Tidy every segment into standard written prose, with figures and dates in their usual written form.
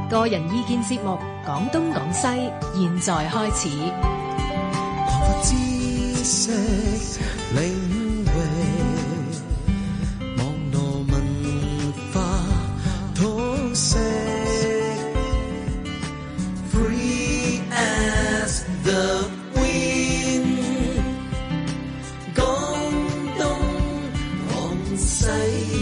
個人意見節目《講東講西》，現在開始。 擴闊知識領域，網絡文化通識 ，Free as the wind， 講東講西。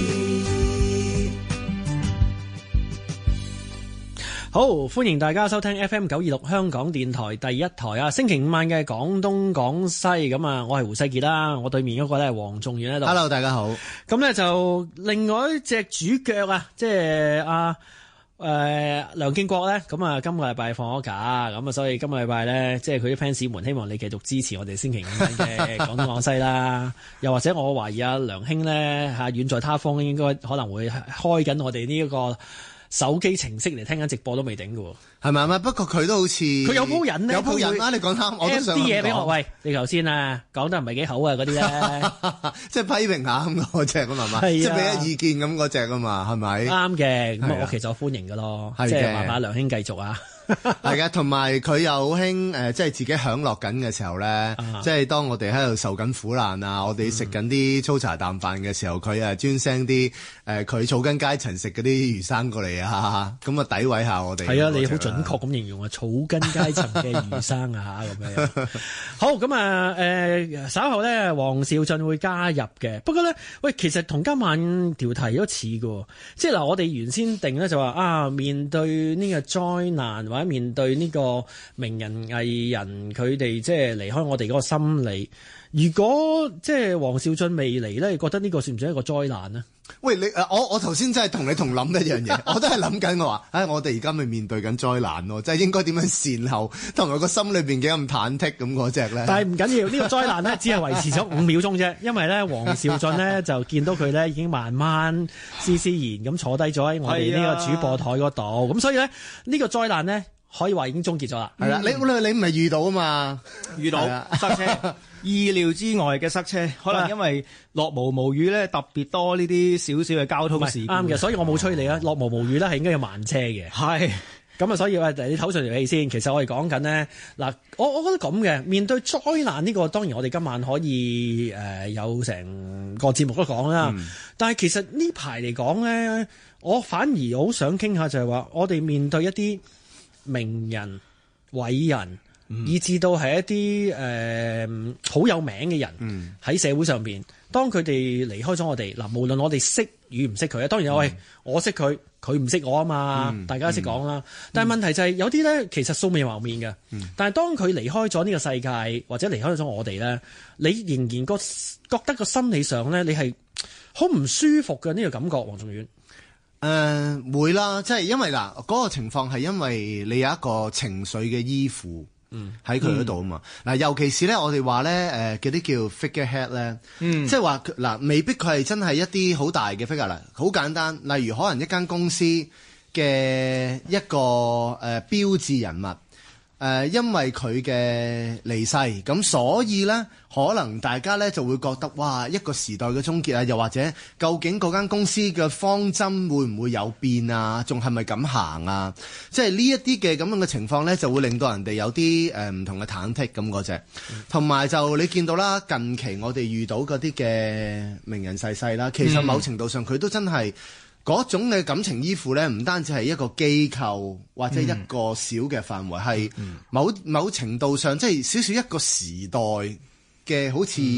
好，歡迎大家收聽 FM926 香港電台第一台啊！星期五晚嘅廣東廣西咁啊，我係胡世傑啦，我對面嗰個咧係黃仲遠喺度。 Hello， 大家好。 咁咧就另外一隻主角啊，即係梁建國咧，咁啊今個禮拜放咗假，咁啊所以今個禮拜咧，即係佢啲 fans 們希望你繼續支持我哋星期五晚嘅廣東廣西啦。又或者我懷疑阿梁兄咧嚇遠在他方，應該可能會開緊我哋呢一個手機程式嚟聽緊直播都未頂㗎喎， 係咪啊？不過佢都好似佢有鋪人咧， 有鋪人啦。你講啱，我都想啲嘢俾我。喂，你頭先啊講得唔係幾好啊嗰啲咧， 即係批評下咁嗰隻咁係嘛？即係俾一意見咁嗰隻啊嘛，係咪？ 啱嘅，咁我其實我歡迎㗎咯，即係麻麻梁兄繼續啊。 係嘅，同埋佢又好興即係自己享樂緊嘅時候咧，即係當我哋喺度受緊苦難啊，我哋食緊啲粗茶淡飯嘅時候，佢專聲啲佢草根階層食嗰啲魚生過嚟啊，咁啊詆毀下我哋。係啊， 你好準確咁形容啊，草根階層嘅魚生啊嚇咁樣。好，咁啊稍後咧，黃兆俊會加入嘅。不過咧，喂，其實同今晚條題都似嘅，即係嗱，我哋原先定咧就話啊，面對呢個災難或者面對呢個名人藝人佢哋即係離開我哋嗰個心理，如果即係黃兆俊未嚟咧，你覺得呢個算唔算一個災難呢？ 喂，我頭先真係同你同諗一樣嘢，我都係諗緊我話，我哋而家咪面對緊災難咯，即係應該點樣善後，同埋個心裏邊幾咁忐忑咁嗰隻咧。但係唔緊要，呢個災難咧只係維持咗5秒鐘啫，因為咧黃兆俊咧就見到佢咧已經慢慢斯斯然咁坐低咗喺我哋呢個主播台嗰度，咁所以咧呢個災難咧可以話已經終結咗啦。係啦，你唔係遇到啊嘛？遇到塞車。意料之外嘅塞車，可能因為落毛毛雨咧，特別多呢啲少少嘅交通事故。 啱嘅，所以我冇催你啊。落毛毛雨咧係應該有慢車嘅。係咁啊，所以你唞上條氣先。其實我哋講緊呢，嗱，我覺得咁嘅面對災難呢個，當然我哋今晚可以有成個節目都講啦。但係其實呢排嚟講咧，我反而好想傾下就係話，我哋面對一啲名人偉人。以至到係一啲好有名嘅人喺社會上邊，當佢哋離開咗我哋，嗱，無論我哋識與唔識佢啊，當然喂，我識佢，佢唔識我啊嘛，大家識講啦。但係問題就係有啲咧，其實素未謀面嘅，但係當佢離開咗呢個世界或者離開咗我哋咧，你仍然覺得個心理上咧，你係好唔舒服嘅呢個感覺，黃仲遠。 會啦，即係因為嗱嗰個情況係因為你有一個情緒嘅依附。喺佢嗰度啊嘛，嗱，尤其是咧，我哋話咧，嗰啲叫 figurehead 咧，即係話嗱，未必佢係真係一啲好大嘅 figure 啦，好簡單，例如可能一間公司嘅一個標誌人物。因為佢嘅離世，咁所以呢，可能大家呢就會覺得，哇，一個時代嘅終結啊，又或者究竟嗰間公司嘅方針會唔會有變啊？仲係咪咁行啊？即係呢一啲嘅咁樣嘅情況呢，就會令到人哋有啲唔同嘅忐忑咁嗰隻。同埋就你見到啦，近期我哋遇到嗰啲嘅名人逝世啦，其實某程度上佢都真係。嗰種嘅感情依附咧，唔單止係一個機構或者一個小嘅範圍，係某程度上即係少少一個時代嘅，好似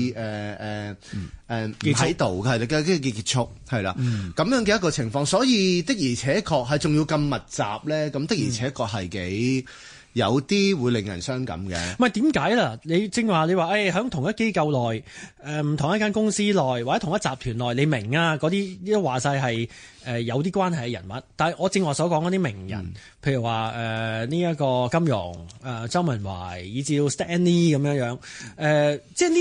喺度係嘅結束係啦，咁樣嘅一個情況，所以的而且確係仲要咁密集咧，咁的而且確係幾。有啲會令人傷感嘅。 唔係點解啦？你正話你話喺同一機構內，唔同一間公司內，或者同一集團內，你明啊？嗰啲都話晒係有啲關係嘅人物。但係我正話所講嗰啲名人，譬如話呢一個金庸、周文懷，以至到 Stanley 咁樣樣，即係呢啲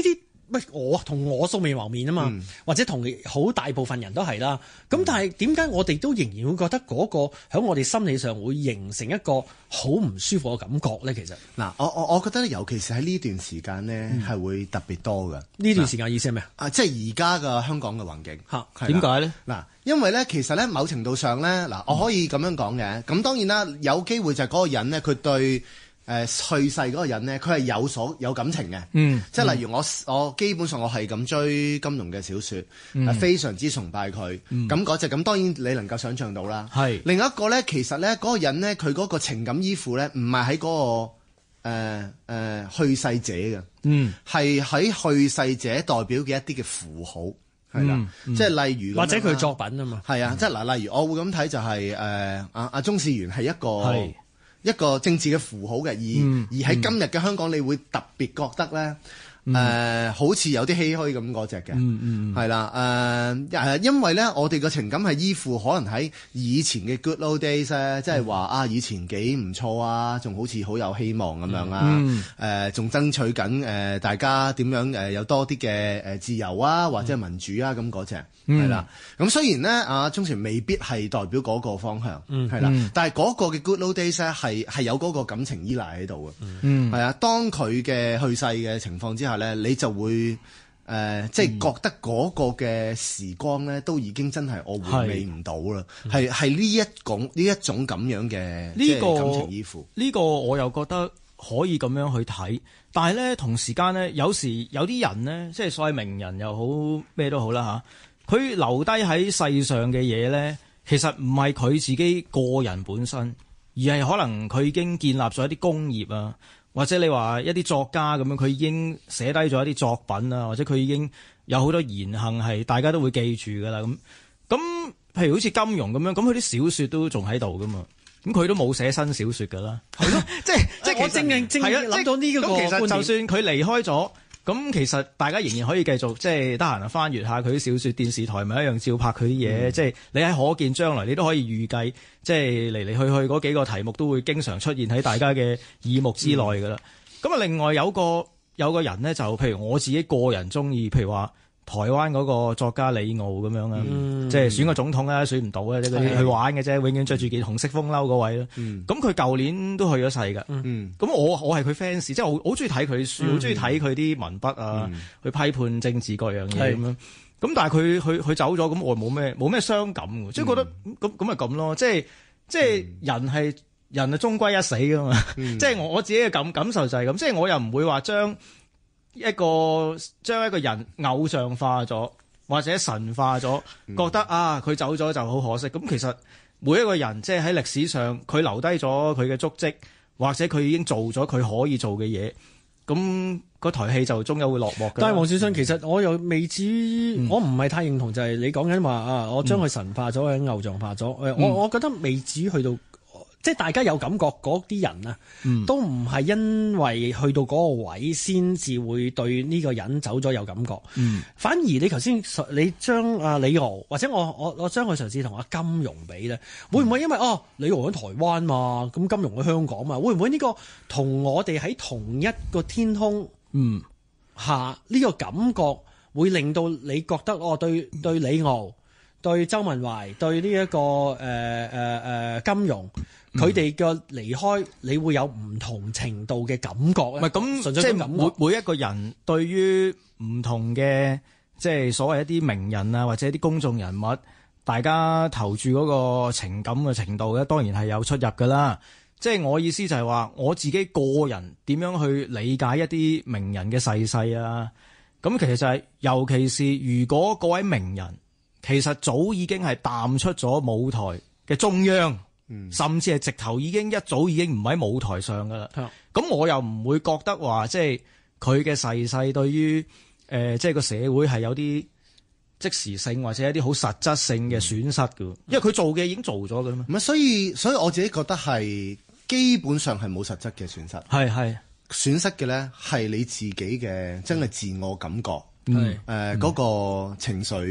我同我素未謀面啊嘛，或者同好大部分人都係啦。咁但係點解我哋都仍然會覺得嗰個喺我哋心理上會形成一個好唔舒服嘅感覺咧？其實嗱，我覺得尤其是喺呢段時間呢，係會特別多嘅。 呢段時間意思係咩啊？ 即係而家嘅香港嘅環境嚇， 點解咧？ 嗱，因為咧其實咧某程度上咧，嗱，我可以咁樣講嘅。咁當然啦，有機會就係嗰個人呢，佢對去世嗰個人呢，佢係有感情嘅。即係例如我基本上我係咁追金庸嘅小説，非常之崇拜佢。咁嗰隻咁當然你能夠想像到啦。係另一個咧，其實咧嗰個人咧，佢嗰個情感依附咧，唔係喺嗰個去世者嘅，係喺去世者代表嘅一啲嘅符號，係啦，即係例如或者佢作品啊嘛。係啊，即係嗱，例如我會咁睇就係阿鍾士元係一個政治嘅符號嘅，而喺今日嘅香港，你會特別覺得咧，好似有啲唏噓咁嗰隻嘅，係啦，因為咧，我哋嘅情感係依附可能喺以前嘅 good old days 咧，即係話以前幾唔錯啊，仲好似好有希望咁樣啊，仲爭取緊大家點樣有多啲嘅自由啊，或者民主啊咁嗰隻。係啦，咁雖然咧，阿鍾士元未必係代表嗰個方向，係啦，但係嗰個嘅 Good Old Days 咧係有嗰個感情依賴喺度嘅，係啊。當佢嘅去世嘅情況之下咧，你就會即係覺得嗰個嘅時光咧都已經真係我回味唔到啦，係呢一種咁樣嘅即係感情依附。 呢個我又覺得可以咁樣去睇，但係咧同時間咧，有時有啲人咧，即係所謂名人又好咩都好啦嚇。佢留低喺世上嘅嘢咧，其實唔係佢自己個人本身，而係可能佢已經建立咗一啲工業啊，或者你話一啲作家咁樣，佢已經寫低咗一啲作品啊，或者佢已經有好多言行係大家都會記住噶啦。咁譬如好似金庸咁樣，咁佢啲小說都仲喺度噶嘛，咁佢都冇寫新小說噶啦，係咯，即係我正諗到呢個觀點。 其實就算佢離開咗。咁其實大家仍然可以繼續即係得閒翻閱下佢啲小説，電視台咪一樣照拍佢啲嘢。即係你喺可見將來，你都可以預計，即係嚟嚟去去嗰幾個題目都會經常出現喺大家嘅耳目之內㗎啦。咁啊，另外有個人呢，就譬如我自己個人中意，譬如話台灣嗰個作家李敖咁樣啦，即係選個總統啦，選唔到啊，即係嗰啲去玩嘅啫，永遠着住件紅色風褸嗰位啦。咁佢舊年都去咗世㗎。咁我係佢 fans，即係我好中意睇佢書，好中意睇佢啲文筆啊，去批判政治各樣嘢咁樣。咁但係佢走咗，咁我冇咩傷感嘅，即係覺得咁咪咁咯。即係人係終歸一死㗎嘛。即係我自己嘅感受就係咁，即係我又唔會話將一個人偶像化咗或者神化咗，覺得佢走咗就好可惜。咁其實每一個人即係喺歷史上佢留低咗佢嘅足跡，或者佢已經做咗佢可以做嘅嘢，咁嗰台戲就終有會落幕嘅。 但係黃少信，其實我又未至於，我唔係太認同就係你講緊話我將佢神化咗或者偶像化咗。我覺得未至於去到。即係大家有感覺嗰啲人啊，都唔係因為去到嗰個位先至會對呢個人走咗有感覺。反而你頭先你將李敖或者我將佢嘗試同阿金庸比咧，會唔會因為李敖喺台灣嘛，咁金庸喺香港嘛，會唔會呢個同我哋喺同一個天空下呢個感覺會令到你覺得對李敖、對周文懷、對呢一個金庸，佢哋嘅離開，你會有唔同程度嘅感覺咧？唔係咁，即係每一個人對於唔同嘅即係所謂一啲名人啊，或者一啲公眾人物，大家投注嗰個情感嘅程度咧，當然係有出入噶啦。即係我意思就係話，我自己個人點樣去理解一啲名人嘅逝世啊？咁其實就係，尤其是如果嗰位名人其實早已經係淡出咗舞台嘅中央。甚至係直頭一早已經唔喺舞台上噶啦。咁我又唔會覺得話即係佢嘅逝世對於即係個社會係有啲即時性或者一啲好實質性嘅損失噶。因為佢做嘅已經做咗噶啦嘛。 唔係，所以我自己覺得係基本上係冇實質嘅損失。係損失嘅咧係你自己嘅真係自我感覺，嗰個情緒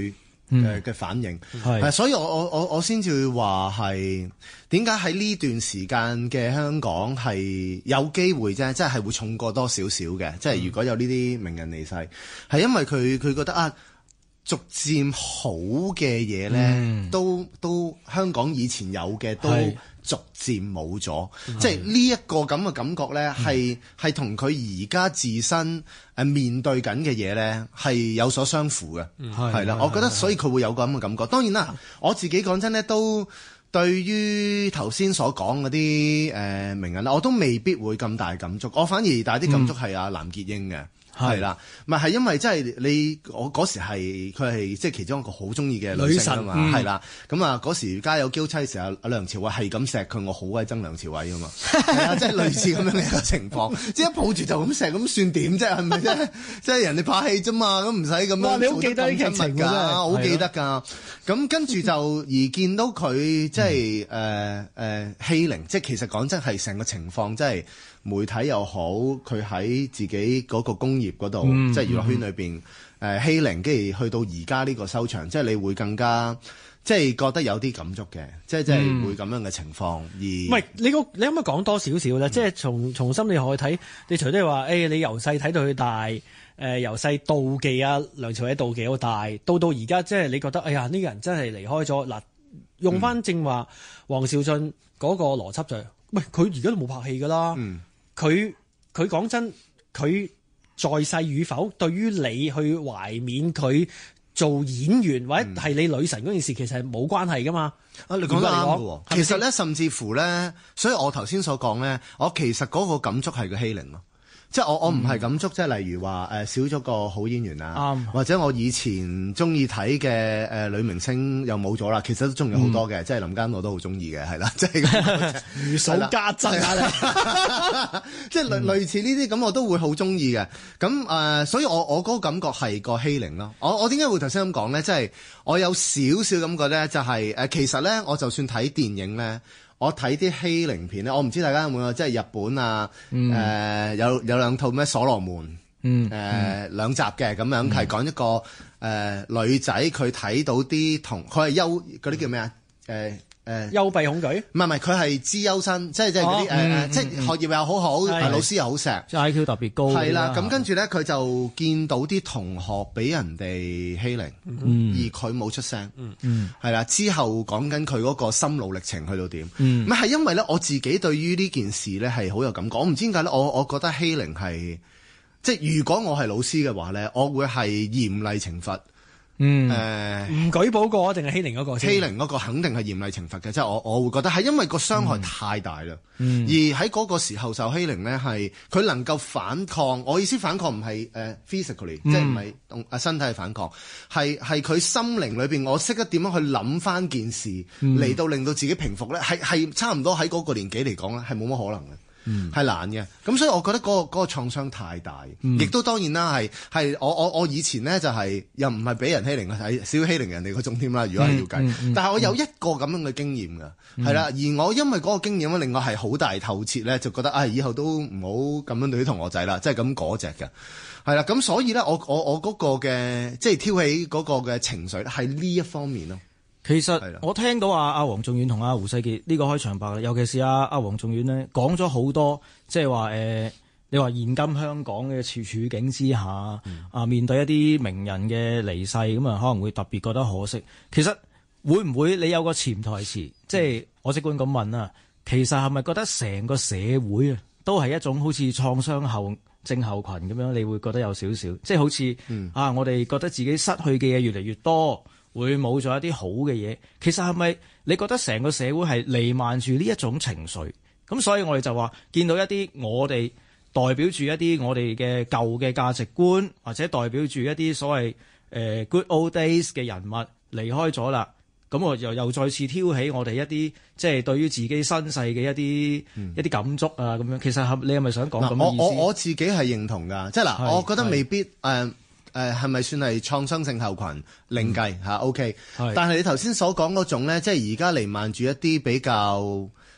嘅反應。所以我先至會話係點解喺呢段時間嘅香港係有機會啫，即係會重過多少少嘅。即係如果有呢啲名人離世，係因為佢覺得啊，逐漸好嘅嘢咧，都香港以前有嘅都逐漸冇咗，即係呢一個咁嘅感覺咧，係同佢而家自身面對緊嘅嘢咧係有所相符嘅，係啦。我覺得所以佢會有個咁嘅感覺。當然啦，我自己講真咧，都對於頭先所講嗰啲名人啦，我都未必會咁大感觸。我反而大啲感觸係阿藍潔瑛嘅。係啦，係因為即係我嗰時佢係即係其中一個好中意嘅女性啊嘛，係啦，咁啊嗰時家有嬌妻嘅時候，阿梁朝偉係咁錫佢，我好鬼憎梁朝偉啊嘛，係啊，即係類似咁樣嘅一個情況，即係一抱住就咁錫，咁算點啫？係咪啫？即係人哋拍戲啫嘛，咁唔使咁樣。 你好記得呢劇情㗎， 我好記得㗎。咁跟住就而見到佢即係欺凌，即係其實講真係成個情況，即係。媒體又好，佢喺自己嗰個工業嗰度，即係娛樂圈裏邊欺凌，跟住去到而家呢個收場，即係你會更加即係覺得有啲感觸嘅，即係會咁樣嘅情況。而唔係你可唔可以講多少少咧？即係從心理學去睇，你除咗話你由細睇到佢大，由細妒忌啊梁朝偉妒忌好大，到而家即係你覺得哎呀呢個人真係離開咗嗱，用翻正話王兆俊嗰個邏輯就係，喂佢而家都冇拍戲㗎啦。佢講真，佢在世與否，對於你去懷緬佢做演員或者係你女神嗰件事，其實係冇關係噶嘛。 你講得啱嘅喎。其實咧，甚至乎咧，所以我頭先所講咧，我其實嗰個感觸係個欺凌咯。即係我唔係感觸，即係例如話少咗個好演員啊，或者我以前中意睇嘅女明星又冇咗啦。其實都仲有好多嘅，即係林嘉欣我都好中意嘅，係啦，即係如數家珍啊！ 即係類似呢啲咁，我都會好中意嘅。咁所以我嗰個感覺係個欺凌咯。我點解會頭先咁講咧？即係我有少少感覺咧，就係其實咧，我就算睇電影咧。我睇啲欺凌片咧，我唔知大家有冇即係日本啊，有兩套咩所羅門，兩集嘅咁樣，係講一個女仔佢睇到啲佢係嗰啲叫咩啊？ 幽閉恐懼？ 唔係，佢係資優生，即係嗰啲即係學業又好好，老師又好錫， 即係 IQ 特別高。 係啦，咁跟住咧，佢就見到啲同學俾人哋欺凌，而佢冇出聲。係啦，之後講緊佢嗰個心路歷程去到點？咁係因為咧，我自己對於呢件事咧係好有感覺。我唔知點解咧，我覺得欺凌係即係如果我係老師嘅話咧，我會係嚴厲懲罰。唔舉報過定係欺凌嗰個？ 欺凌嗰個肯定係嚴厲懲罰嘅，即係我會覺得係因為個傷害太大啦。而喺嗰個時候受欺凌咧，係佢能夠反抗。我意思反抗唔係physically，即係唔係動身體反抗，係佢心靈裏邊，我識得點樣去諗翻件事嚟到令到自己平復咧，係差唔多喺嗰個年紀嚟講咧，係冇乜可能嘅。係難嘅，咁所以我覺得嗰個創傷太大，亦都當然啦，係我以前咧就係又唔係俾人欺凌啊，係少欺凌人哋嗰種添啦。如果係要計，但係我有一個咁樣嘅經驗㗎，係啦，而我因為嗰個經驗咧，令我係好大透徹咧，就覺得以後都唔好咁樣對啲同學仔啦，即係咁嗰隻嘅，係啦，咁所以咧，我嗰個嘅即係挑起嗰個嘅情緒咧，係呢一方面咯。 其實我聽到阿黃仲遠同阿胡世傑呢個開場白，尤其是阿黃仲遠咧講咗好多，即係話你話現今香港嘅處境之下，面對一啲名人嘅離世，咁啊可能會特別覺得可惜。其實會唔會你有個潛台詞，即係我即管咁問啊，其實係咪覺得成個社會啊都係一種好似創傷後症候群咁樣？你會覺得有少少，即係好似我哋覺得自己失去嘅嘢越嚟越多。會冇咗一啲好嘅嘢，其實係咪你覺得成個社會係瀰漫住呢一種情緒？咁所以我哋就話見到一啲我哋代表住一啲我哋嘅舊嘅價值觀，或者代表住一啲所謂good old days 嘅人物離開咗啦，咁我又再次挑起我哋一啲即係對於自己身世嘅一啲感觸啊咁樣。其實你係咪想講咁嘅意思？ 我自己係認同㗎，即係嗱，我覺得未必係咪算係創傷症候群另計嚇？OK，但係你頭先所講嗰種咧，即係而家瀰漫住一啲比較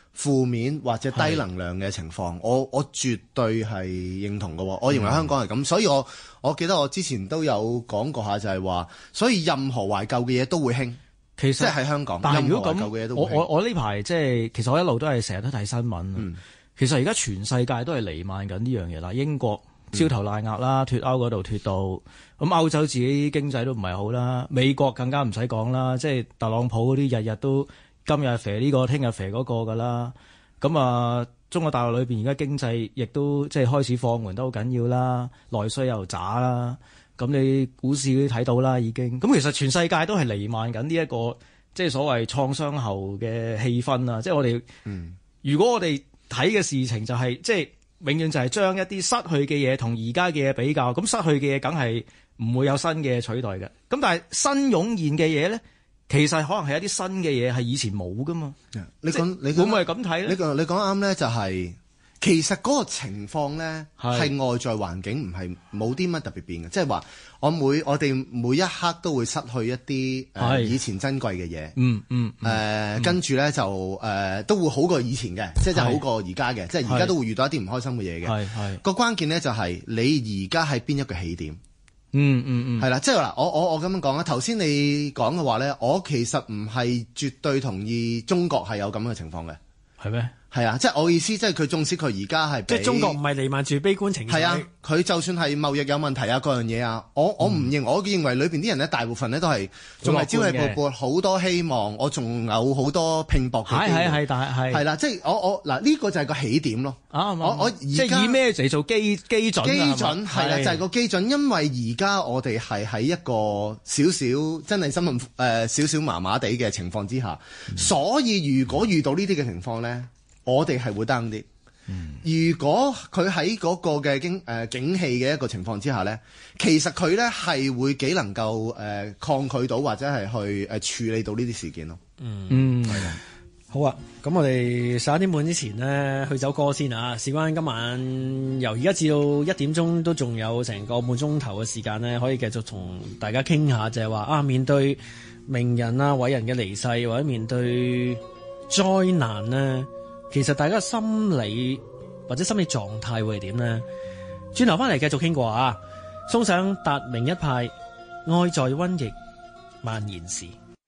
負面或者低能量嘅情況，我絕對係認同嘅。我認為香港係咁，所以我記得我之前都有講過下，就係話，所以任何懷舊嘅嘢都會興。其實即係喺香港， 但係如果咁， 我呢排即係其實我一路都係成日都睇新聞。其實而家全世界都係瀰漫緊呢樣嘢啦。英國焦頭爛額啦，脫歐嗰度脫到，咁歐洲自己經濟都唔係好啦，美國更加唔使講啦，即係特朗普嗰啲日日都今日肥呢個，聽日肥嗰個㗎啦。咁啊，中國大陸裏邊而家經濟亦都即係開始放緩得好緊要啦，內需又渣啦。咁你股市都睇到啦，已經。咁其實全世界都係瀰漫緊呢一個即係所謂創傷後嘅氣氛啊！即係我哋，如果我哋睇嘅事情就係即係永遠就係將一啲失去嘅嘢同而家嘅嘢比較，咁失去嘅嘢梗係唔會有新嘅取代嘅。咁但係新湧現嘅嘢咧，其實可能係一啲新嘅嘢係以前冇噶嘛。 你會唔會係咁睇咧？ 你講啱咧，就係其實嗰個情況咧係外在環境唔係冇啲乜特別變嘅，即係話我哋每一刻都會失去一啲以前珍貴嘅嘢。跟住咧就都會好過以前嘅，即係好過而家嘅，即係而家都會遇到一啲唔開心嘅嘢嘅。個關鍵咧就係你而家喺邊一個起點。係啦，即係嗱，我咁樣講啦。頭先你講嘅話咧，我其實唔係絕對同意中國係有咁嘅情況嘅。係咩？係啊，即係我意思，即係佢縱使佢而家係即係中國唔係瀰漫住悲觀情緒。 係啊，佢就算係貿易有問題啊，各樣嘢啊，我認為裏邊啲人咧，大部分咧都係仲係朝氣勃勃，好多希望，我仲有好多拼搏嘅機會。係啦，即係我嗱呢個就係個起點咯。我而家即係以咩嚟做基準？ 基準係啦，就係個基準，因為而家我哋係喺一個少少真係新聞少少麻麻地嘅情況之下，所以如果遇到呢啲嘅情況咧，我哋係會 down 啲。如果佢喺嗰個嘅景氣嘅一個情況之下咧，其實佢咧係會幾能夠抗拒到或者係去處理到呢啲事件咯。係啊。 好啊，咁我哋11點半之前呢，去首歌先啊。事關今晚由而家至到1點鐘都仲有成個半鐘頭嘅時間呢，可以繼續同大家傾下，就係話面對名人啊、偉人嘅離世，或者面對災難呢，其實大家心理或者心理狀態會係點呢？轉頭翻嚟繼續傾過啊！送上達明一派《愛在瘟疫蔓延時》。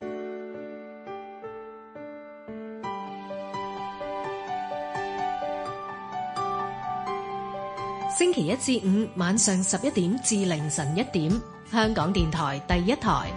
星期一至五晚上11點至凌晨1點，香港電台第一台。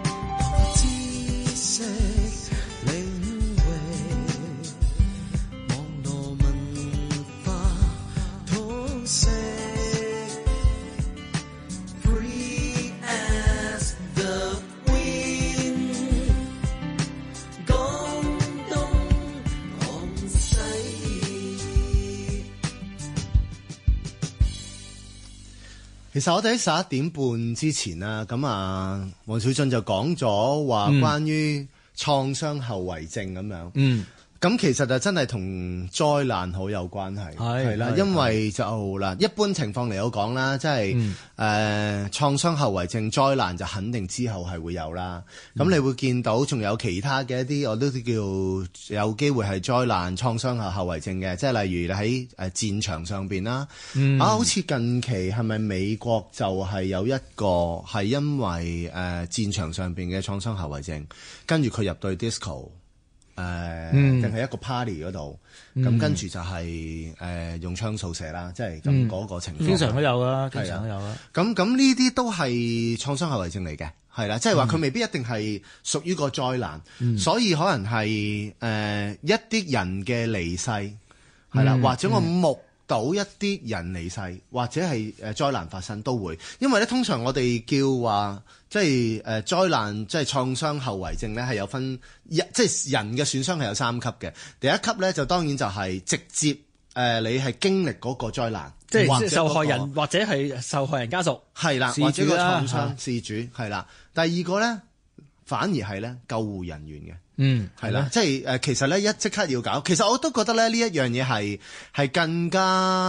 其實我哋喺11點半之前啦，咁黃小俊就講咗話關於創傷後遺症咁樣。咁其實就真係同災難好有關係，係啦，因為就嗱一般情況嚟講啦，即係創傷後遺症災難就肯定之後係會有啦。咁你會見到仲有其他嘅一啲我都叫有機會係災難創傷後遺症嘅，即係例如你喺戰場上邊啦。好似近期係咪美國就係有一個係因為戰場上邊嘅創傷後遺症，跟住佢入對 disco。定係一個 party 嗰度，咁跟住就係用槍掃射啦，即係咁嗰個情況。 經常都有啦，經常都有啦。 咁呢啲都係創傷後遺症嚟嘅，係啦，即係話佢未必一定係屬於個災難，所以可能係一啲人嘅離世，係啦，或者我目睹一啲人離世，或者係災難發生都會，因為咧通常我哋叫話。即係災難，即係創傷後遺症咧，係有分即係人嘅損傷係有3級嘅。第一級咧就當然就係直接你係經歷嗰個災難， 即係受害人或者係受害人家屬係啦，或者個創傷事主係啦。第二個咧反而係咧救護人員嘅，係啦，即係其實咧即刻要搞。其實我都覺得咧呢一樣嘢係更加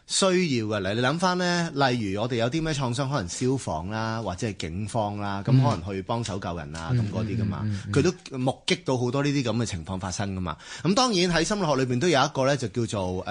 需要嘅。嚟你諗翻咧，例如我哋有啲咩創傷，可能消防啦，或者係警方啦，咁可能去幫手救人啊，咁嗰啲噶嘛，佢都目擊到好多呢啲咁嘅情況發生噶嘛。咁當然喺心理學裏邊都有一個咧，就叫做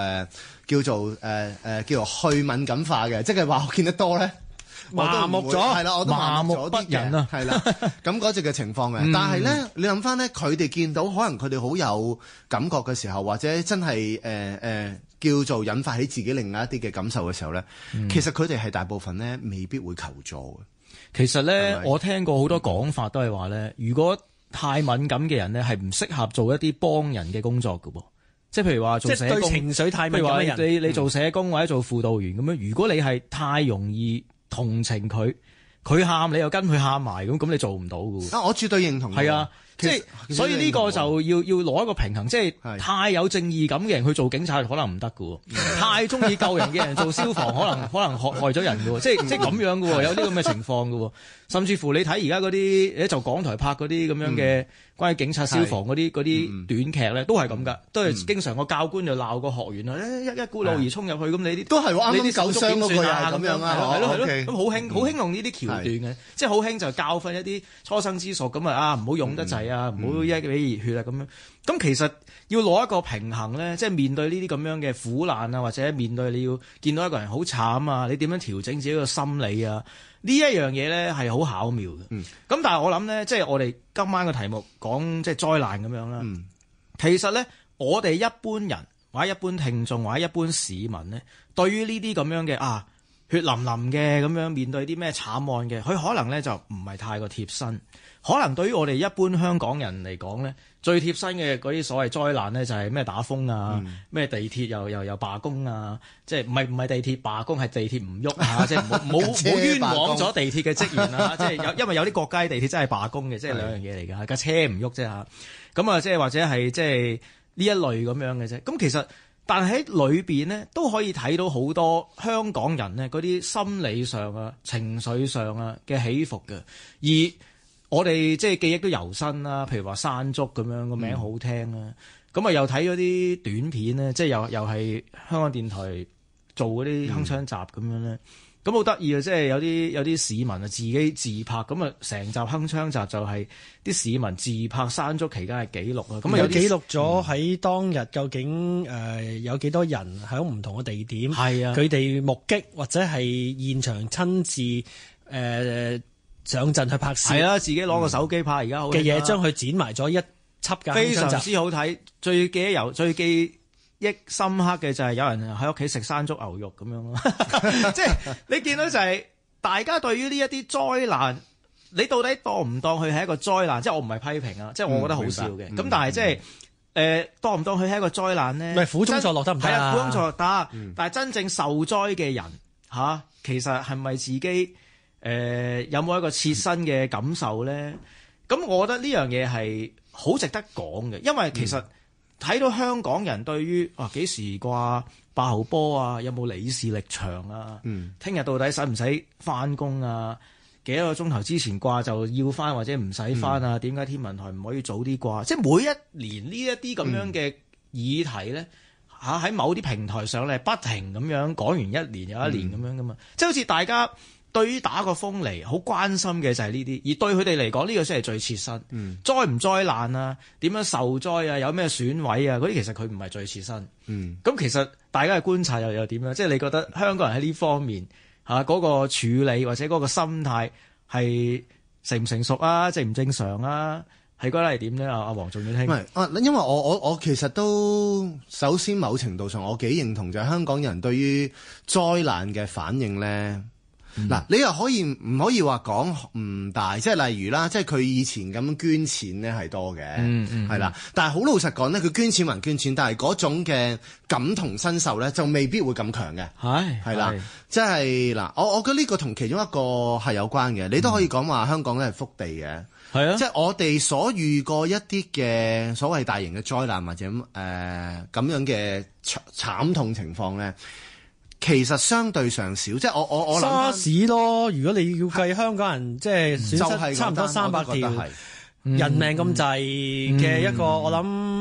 去敏感化嘅，即係話我見得多咧。 麻木咗， 係啦，我都麻木咗啲不仁啊， 係啦，咁嗰隻嘅情況嘅。但係咧，你諗翻咧，佢哋見到可能佢哋好有感覺嘅時候，或者真係叫做引發起自己另外一啲嘅感受嘅時候咧，其實佢哋係大部分咧未必會求助嘅。 其實咧，我聽過好多講法都係話咧，如果太敏感嘅人咧，係唔適合做一啲幫人嘅工作㗎噃。即係譬如話做社工， 即係對情緒太敏感嘅人， 你做社工或者做輔導員咁樣，如果你係太容易同情佢喊你又跟佢喊埋咁你做唔到㗎。 啊，我絕對認同。係啊， 即係所以呢個就要攞一個平衡，即係太有正義感嘅人去做警察可能唔得㗎喎，太中意救人嘅人做消防可能害咗人㗎喎，即係咁樣㗎喎，有啲咁嘅情況㗎喎。甚至乎你睇而家嗰啲就港台拍嗰啲咁樣嘅關於警察消防嗰啲短劇咧，都係咁㗎，都係經常個教官就鬧個學員啊，一股腦兒衝入去咁，你啲都係啱啱受傷嗰個啊咁樣啊，係咯咁好興用呢啲橋段嘅，即係好興就教訓一啲初生之犢咁唔好用得滯啊，唔好一俾熱血啊咁樣。咁其實要攞一個平衡咧，即係面對呢啲咁樣嘅苦難啊，或者面對你要見到一個人好慘啊，你點樣調整自己個心理啊？呢一樣嘢咧係好巧妙嘅。咁但係我諗咧，即係我哋今晚嘅題目講即係災難咁樣啦。其實咧，我哋一般人或者一般聽眾或者一般市民咧，對於呢啲咁樣嘅血淋淋嘅咁樣面對啲咩慘案嘅，佢可能咧就唔係太過貼身。可能對於我哋一般香港人嚟講咧，最貼身嘅嗰啲所謂災難咧，就係咩打風啊，咩地鐵又罷工啊，即係唔係地鐵罷工，係地鐵唔喐啊，即係冇冤枉咗地鐵嘅職員啊，即係因為有啲國家地鐵真係罷工嘅，即係兩樣嘢嚟㗎，架車唔喐啫嚇。咁啊，即係或者係即係呢一類咁樣嘅啫。咁其實但係喺裏邊咧都可以睇到好多香港人咧嗰啲心理上啊、情緒上啊嘅起伏嘅，而我哋即係記憶都猶新啦，譬如話山竹咁樣個名好聽啦，咁又睇咗啲短片咧，即係又係香港電台做嗰啲鏗鏘集咁樣咧，咁好得意啊！即係有啲市民啊自己自拍，咁啊成集鏗鏘集就係啲市民自拍山竹期間嘅記錄啊，咁有記錄咗喺當日究竟有幾多人喺唔同嘅地點，佢哋目擊或者係現場親自上陣去拍攝， 係啊，自己攞個手機拍，而家好嘅嘢，將佢剪埋咗一輯嘅， 非常之好睇。最記憶深刻嘅就係有人喺屋企食山竹牛肉咁樣咯，即係你見到就係大家對於呢一啲災難，你到底當唔當佢係一個災難？即係我唔係批評啊，即係我覺得好笑嘅。咁但係即係當唔當佢係一個災難咧？ 唔係苦中作樂得唔得啊？ 苦中作樂得，但係真正受災嘅人其實係咪自己？有冇一個切身嘅感受咧？咁我覺得呢樣嘢係好值得講嘅，因為其實睇到香港人對於幾時掛8號波啊，有冇李氏力場啊？聽日到底使唔使翻工啊？幾多個鐘頭之前掛就要翻或者唔使翻啊？點解天文台唔可以早啲掛？即係每一年呢一啲咁樣嘅議題咧，喺某啲平台上咧不停咁樣講完一年又一年咁樣噶嘛，即係好似大家對於打個風嚟好關心嘅就係呢啲，而對佢哋嚟講呢個先係最切身。災唔災難啊？點樣受災啊？有咩損毀啊？嗰啲其實佢唔係最切身。咁其實大家嘅觀察又點樣？即係你覺得香港人喺呢方面嗰個處理或者嗰個心態係成唔成熟啊？正唔正常啊？係覺得係點咧？阿黃仲要聽。 因為我其實都首先某程度上我幾認同就係香港人對於災難嘅反應咧。嗱，你又唔可以話講唔大，即係例如啦，即係佢以前咁捐錢咧係多嘅，係啦。但係好老實講咧，佢捐錢還捐錢，但係嗰種嘅感同身受咧就未必會咁強嘅，係啦。即係嗱，我覺得呢個同其中一個係有關嘅。你都可以講話香港咧係福地嘅，係啊。即係我哋所遇過一啲嘅所謂大型嘅災難或者咁樣嘅慘痛情況咧。其實相對上少，即係我諗沙士咯。如果你要計香港人即係損失差唔多300條人命咁滯嘅一個，我諗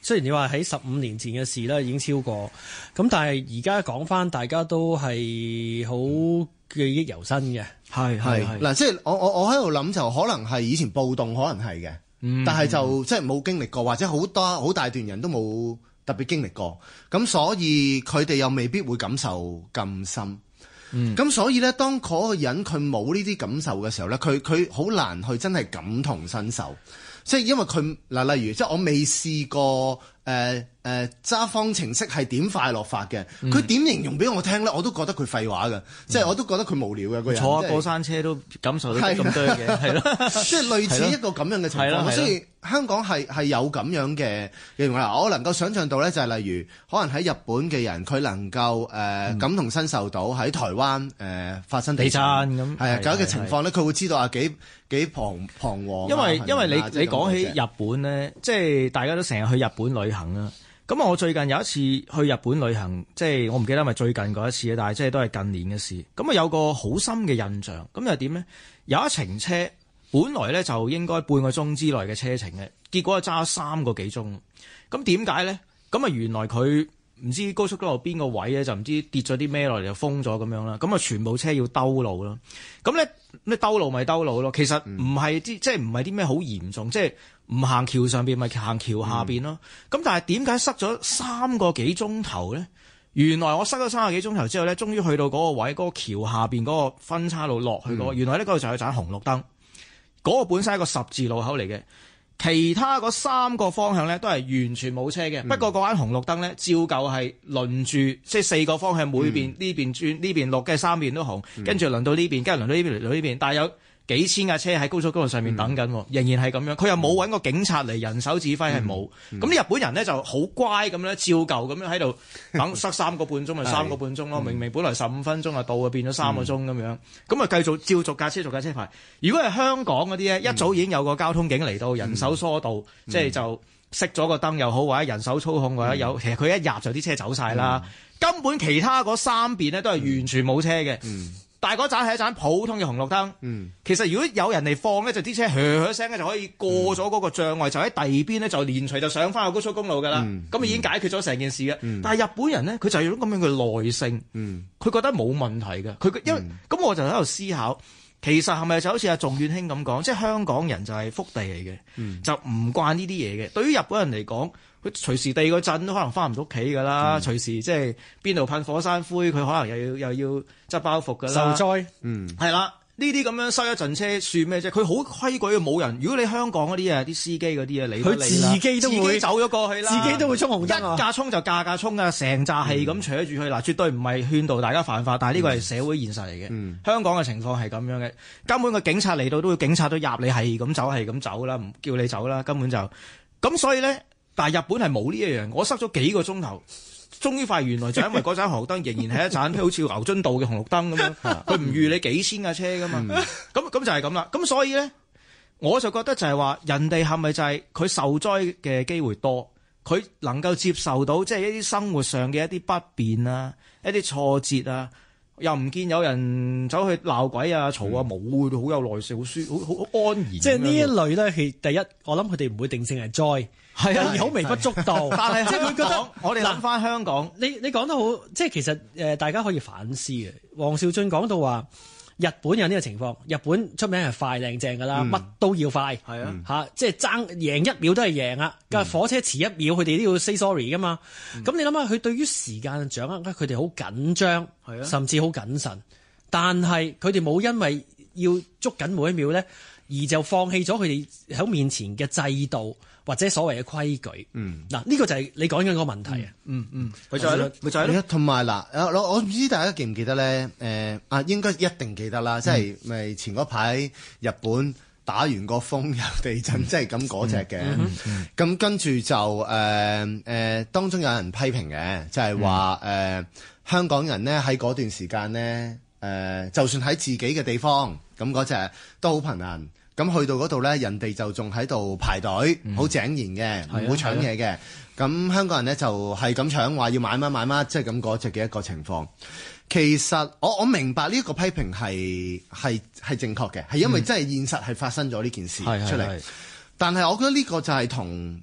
雖然你話喺15年前嘅事咧已經超過，咁但係而家講翻，大家都係好記憶猶新嘅。 係嗱，即係我喺度諗就可能係以前暴動，可能係嘅，但係就即係冇經歷過，或者好大段人都冇特別經歷過，咁所以佢哋又未必會感受咁深。咁所以咧，當嗰個人佢冇呢啲感受嘅時候咧，佢好難去真係感同身受。即係因為佢嗱，例如即係我未試過揸方程式係點快樂法嘅，佢點形容俾我聽咧，我都覺得佢廢話嘅，即係我都覺得佢無聊嘅個人。 坐下過山車都感受到咁多嘢，係咯， 即係類似一個咁樣嘅情況。所以香港係有咁樣嘅形容啦。我能夠想像到咧，就係例如可能喺日本嘅人，佢能夠感同身受到喺台灣發生地震咁係咁嘅情況咧，佢會知道啊幾彷徨。因為你講起日本咧，即係大家都成日去日本旅行啦。咁我最近有一次去日本旅行，即係我唔記得係咪最近嗰一次，但係即係都係近年嘅事。咁啊有個好深嘅印象，咁又點呢？有一程車本來咧就應該半個鐘之內嘅車程嘅，結果係揸咗3個幾鐘。咁點解咧？咁啊原來佢唔知高速公路邊個位咧，就唔知跌咗啲咩落嚟就封咗咁樣啦。咁啊全部車要兜路咯。咁咧你兜路咪兜路咯。其實唔係啲即係唔係啲咩好嚴重，即係唔行橋上邊咪行橋下邊咯。咁但係點解塞咗3個幾鐘頭咧？原來我塞咗3個幾鐘頭之後咧，終於去到嗰個位，嗰個橋下邊嗰個分岔路落去嗰個，原來呢嗰度就有盞紅綠燈。嗰個本身係一個十字路口嚟嘅。其他嗰3個方向咧都係完全冇車嘅，不過嗰間紅綠燈咧照舊係輪住，即係4個方向每邊呢邊轉呢邊綠嘅3邊都紅，跟住輪到呢邊，跟住輪到呢邊嚟到呢邊，但係有幾千架車喺高速公路上面等緊，仍然係咁樣。佢又冇揾個警察嚟人手指揮，係冇。咁啲日本人咧就好乖咁咧，照舊咁樣喺度等塞3個半鐘咪3個半鐘咯。明明本來15分鐘啊到啊，變咗3個鐘咁樣。咁啊繼續照逐架車牌。如果係香港嗰啲咧，一早已經有個交通警嚟到，人手疏導，即係就熄咗個燈又好，或者人手操控或者有。其實佢一入就啲車走晒啦。根本其他嗰3邊咧都係完全冇車嘅。但係嗰盞係一盞普通嘅紅綠燈。其實如果有人嚟放咧，就啲車噓聲咧就可以過咗嗰個障礙，就喺第二邊咧就連隨就上翻個高速公路㗎啦。咁已經解決咗成件事嘅。但係日本人咧，佢就係有種咁樣嘅耐性，佢覺得冇問題嘅。佢因為咁我就喺度思考，其實係咪就好似阿仲遠兄咁講，即係香港人就係福地嚟嘅，就唔慣呢啲嘢嘅。對於日本人嚟講，佢隨時地個陣都可能翻唔到屋企㗎啦，隨時即係邊度噴火山灰，佢可能又要執包袱㗎啦。 受災， 係啦，呢啲咁樣塞一陣車算咩啫？佢好規矩嘅，冇人。如果你香港嗰啲啊，啲司機嗰啲啊， 佢自己都會走咗過去啦， 自己都會衝紅燈啊， 一架衝就架衝啊，成扎係咁扯住去嗱，絕對唔係勸導大家犯法，但係呢個係社會現實嚟嘅。香港嘅情況係咁樣嘅，根本個警察嚟到都會警察都入你係咁走啦，唔叫你走啦，根本就咁。所以咧。但係日本係冇呢一樣，我塞咗幾個鐘頭，終於發現原來就因為嗰盞紅綠燈仍然係一盞好似牛津道嘅紅綠燈咁樣，佢唔預你幾千架車噶嘛，咁就係咁啦。咁所以咧，我就覺得就係話，人哋係咪就係佢受災嘅機會多，佢能夠接受到即係一啲生活上嘅一啲不便啊，一啲挫折啊，又唔見有人走去鬧鬼啊、嘈啊，冇，好有耐性，好安然。 即係呢一類咧，係第一，我諗佢哋唔會定性係災。係啊，好微不足道，但係即係佢覺得我哋諗翻香港， 你講得好，即係其實大家可以反思嘅。王兆俊講到話，日本有呢個情況，日本出名係快靚正㗎啦，乜都要快，係啊，即係爭贏1秒都係贏啊，架火車遲1秒，佢哋都要 say sorry 㗎嘛。咁你諗下，佢對於時間嘅掌握，佢哋好緊張，甚至好謹慎，但係佢哋冇因為要捉緊每一秒咧，而就放棄咗佢哋喺面前嘅制度。或者所謂嘅規矩，嗱呢個就係你講緊個問題啊， 咪就係咯， 同埋嗱，我唔知大家記唔記得咧？應該一定記得啦，即係咪前嗰排日本打完個風又地震，即係咁嗰隻嘅，咁跟住就當中有人批評嘅，就係話香港人咧喺嗰段時間咧，就算喺自己嘅地方，咁嗰隻都好貧難。咁去到嗰度咧，人哋就仲喺度排隊，好井然嘅，唔會搶嘢嘅。咁香港人咧就係咁搶，話要買乜，即係咁嗰隻嘅一個情況。其實我明白呢一個批評係正確嘅，係因為真係現實係發生咗呢件事出嚟。但係我覺得呢個就係同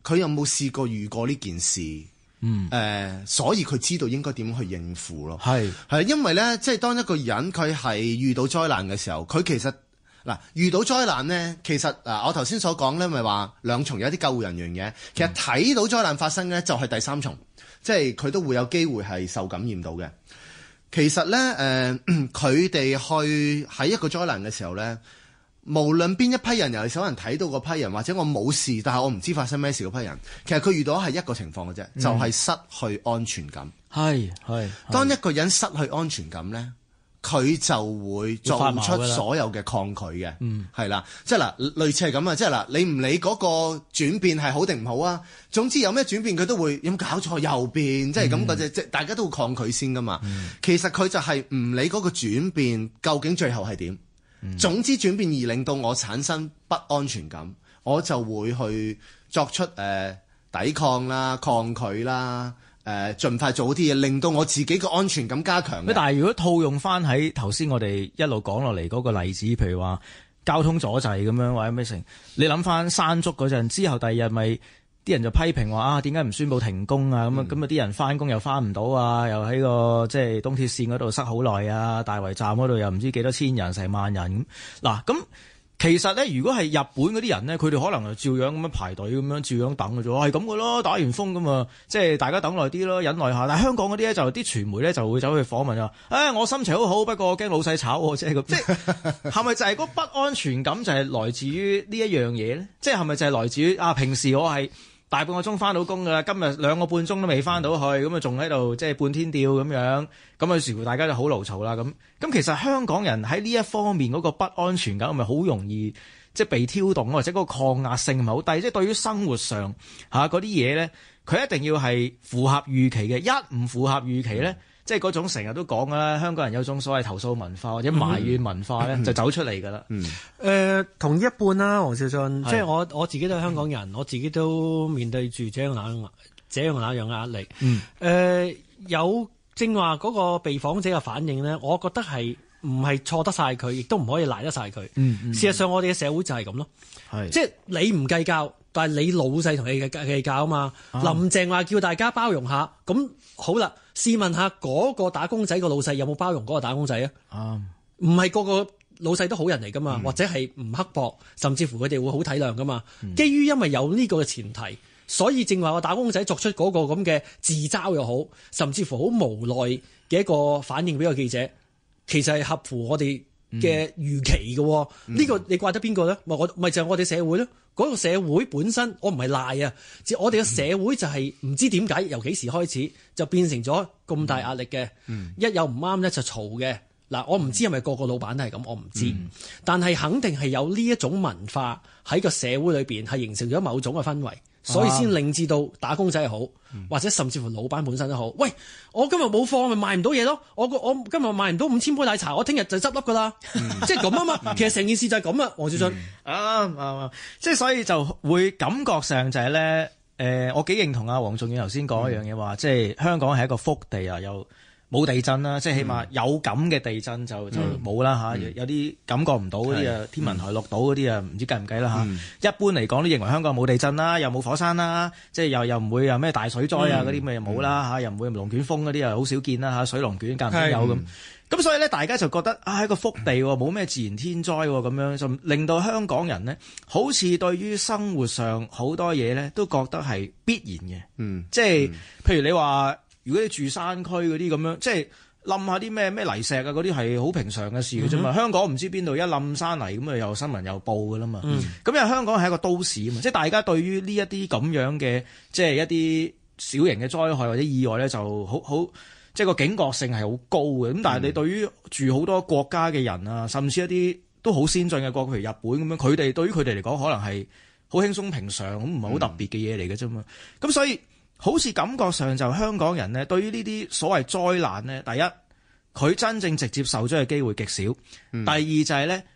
佢有冇試過遇過呢件事？所以佢知道應該點去應付咯。係因為咧，即係當一個人佢係遇到災難嘅時候，佢其實遇到災難咧，其實我頭先所講咧，咪話兩重有一啲救護人員嘅，其實睇到災難發生咧，就係第三重，即係佢都會有機會係受感染到嘅。其實咧，佢哋去喺一個災難嘅時候咧，無論邊一批人，尤其是有人睇到嗰批人，或者我冇事，但係我唔知發生咩事嗰批人，其實佢遇到係一個情況嘅啫，就係失去安全感。係當一個人失去安全感咧，佢就會做出所有嘅抗拒嘅。係啦，即係類似係咁啊，即係你唔理嗰個轉變係好定唔好啊，總之有咩轉變佢都會有冇搞錯又變，即係咁嗰隻，即係大家都會抗拒先噶嘛。其實佢就係唔理嗰個轉變究竟最後係點。總之轉變而令到我產生不安全感，我就會去作出抵抗啦、抗拒啦、盡快做好啲嘢，令到我自己個安全感加強。 但係如果套用翻喺頭先我哋一路講落嚟嗰個例子，譬如話交通阻滯咁樣或者咩成，你諗翻山竹嗰陣之後，第二日咪啲人就批評話點解唔宣佈停工啊？咁啊啲人翻工又翻唔到啊，又喺個即係東鐵線嗰度塞好耐啊，大圍站嗰度又唔知幾多千人成萬人咁。咁其實咧，如果係日本嗰啲人咧，佢哋可能就照樣咁樣排隊咁樣照樣等嘅啫，係咁嘅咯，打完風咁啊，即係大家等耐啲咯，忍耐下。但係香港嗰啲咧就啲傳媒咧就會走去訪問啊，我心情好好，不過我驚老細炒我，即係咁，即係係咪就係嗰不安全感就係來自於呢一樣嘢咧？即係係咪就係來自於平時我係大半個鐘翻到工㗎啦，今日2個半鐘都未翻到去，咁啊仲喺度即係半天吊咁樣，咁啊似乎大家就好勞嘈啦咁。咁其實香港人喺呢一方面嗰個不安全感係咪好容易即係被挑動，或者嗰個抗壓性唔係好低？即係對於生活上嗰啲嘢咧，佢一定要係符合預期嘅，一唔符合預期咧，即係嗰種成日都講㗎啦，香港人有種所謂投訴文化或者埋怨文化咧，就走出嚟㗎啦。 同一半啦，黃少俊，即係我自己都係香港人，我自己都面對住這樣那樣壓力。有正話嗰個被訪者嘅反應咧，我覺得係唔係錯得晒佢，亦都唔可以賴得晒佢。事實上，我哋嘅社會就係咁咯，即係你唔計較，但係你老細同你計較啊嘛。林鄭話叫大家包容下，咁好啦。試問下嗰個打工仔個老細有冇包容嗰個打工仔啊？唔係個個老細都好人嚟噶嘛，或者係唔刻薄，甚至乎佢哋會好體諒噶嘛。基於因為有呢個嘅前提，所以正話個打工仔作出嗰個咁嘅自嘲又好，甚至乎好無奈嘅一個反應俾個記者，其實係合乎我哋嘅預期嘅。呢個你怪得邊個咧？咪就係我哋社會咯。嗰個社會本身，我唔係賴啊，我哋嘅社會就係唔知點解由幾時開始就變成咗咁大壓力嘅。一有唔啱咧就嘈嘅。嗱，我唔知係咪個個老闆都係咁，我唔知。但係肯定係有呢一種文化喺個社會裏邊係形成咗某種嘅氛圍，所以先令至到打工仔係好，或者甚至乎老闆本身都好。喂，我今日冇貨咪賣唔到嘢咯，我今日賣唔到5000杯奶茶，我聽日就執笠噶啦，即係咁啊嘛。其實成件事就係咁啊，黃少俊。 即係所以就會感覺上就係咧，我幾認同阿黃仲遠頭先講一樣嘢話，即係香港係一個福地啊，又冇地震啦，即係起碼有感嘅地震就冇啦嚇，有啲感覺唔到嗰啲啊，天文台錄到嗰啲啊，唔知計唔計啦嚇。一般嚟講都認為香港冇地震啦，又冇火山啦，即係又唔會有咩大水災啊嗰啲咪冇啦嚇，又唔會龍捲風嗰啲啊好少見啦嚇，水龍捲間唔中有咁。咁所以咧，大家就覺得係一個福地喎，冇咩自然天災喎，咁樣就令到香港人呢，好似對於生活上好多嘢咧，都覺得係必然嘅。即係譬如你話，如果你住山區嗰啲咁樣，即係冧下啲咩泥石啊嗰啲係好平常嘅事嘅啫嘛。香港唔知邊度一冧山泥咁啊，又新聞又報噶啦嘛。咁因為香港係一個都市啊嘛，即係大家對於呢一啲咁樣嘅，即係一啲小型嘅災害或者意外咧，就好。即係個警覺性係好高嘅，咁但係你對於住好多國家嘅人啊，甚至一啲都好先進嘅國，譬如日本咁樣，佢哋對於佢哋嚟講可能係好輕鬆平常，咁唔係好特別嘅嘢嚟嘅啫嘛。咁所以好似感覺上就香港人呢，對於呢啲所謂災難呢，第一佢真正直接受咗嘅機會極少，第二就係呢，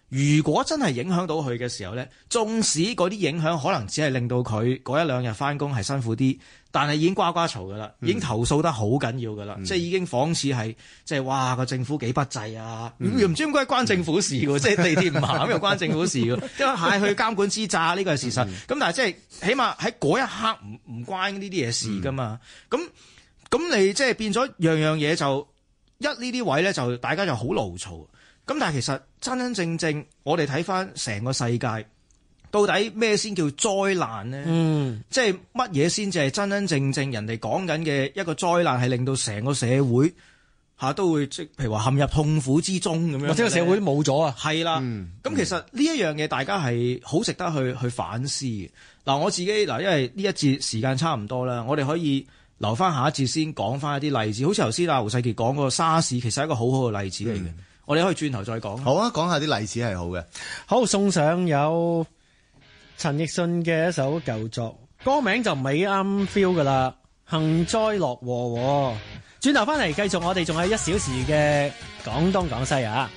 如果真係影響到佢嘅時候咧，縱使嗰啲影響可能只係令到佢嗰一兩日翻工係辛苦啲，但係已經呱呱嘈噶啦，已經投訴得好緊要噶啦，即係已經仿似係即係哇個政府幾不濟啊，又唔知點解關政府事喎，即係地鐵唔行又關政府事喎，因為係去監管之詐呢個係事實，咁但係即係起碼喺嗰一刻唔關呢啲嘢事噶嘛，咁你即係變咗樣樣嘢就呢啲位咧就大家就好牢嘈。咁但係其實真真正我哋睇翻成個世界，到底咩先叫災難呢？即係乜嘢先至係真真正人哋講緊嘅一個災難，係令到成個社會都會即譬如話陷入痛苦之中咁樣，或者個社會都冇咗啊？係啦，咁其實呢一樣嘢大家係好值得去反思嘅。嗱，我自己因為呢一節時間差唔多啦，我哋可以留翻下一節先講翻一啲例子，好似頭先胡世傑講個沙士，其實係一個好好嘅例子嚟嘅。我哋可以轉頭再講。 好啊，講下啲例子係好嘅。 好，送上有陳奕迅嘅一首舊作，歌名就唔係啱 feel 噶啦，幸災樂禍。轉頭翻嚟繼續，我哋仲有1小時嘅廣東廣西啊！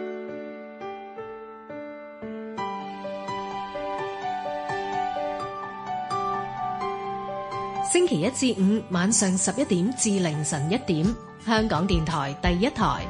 星期一至五晚上11點至凌晨1點，香港電台第一台。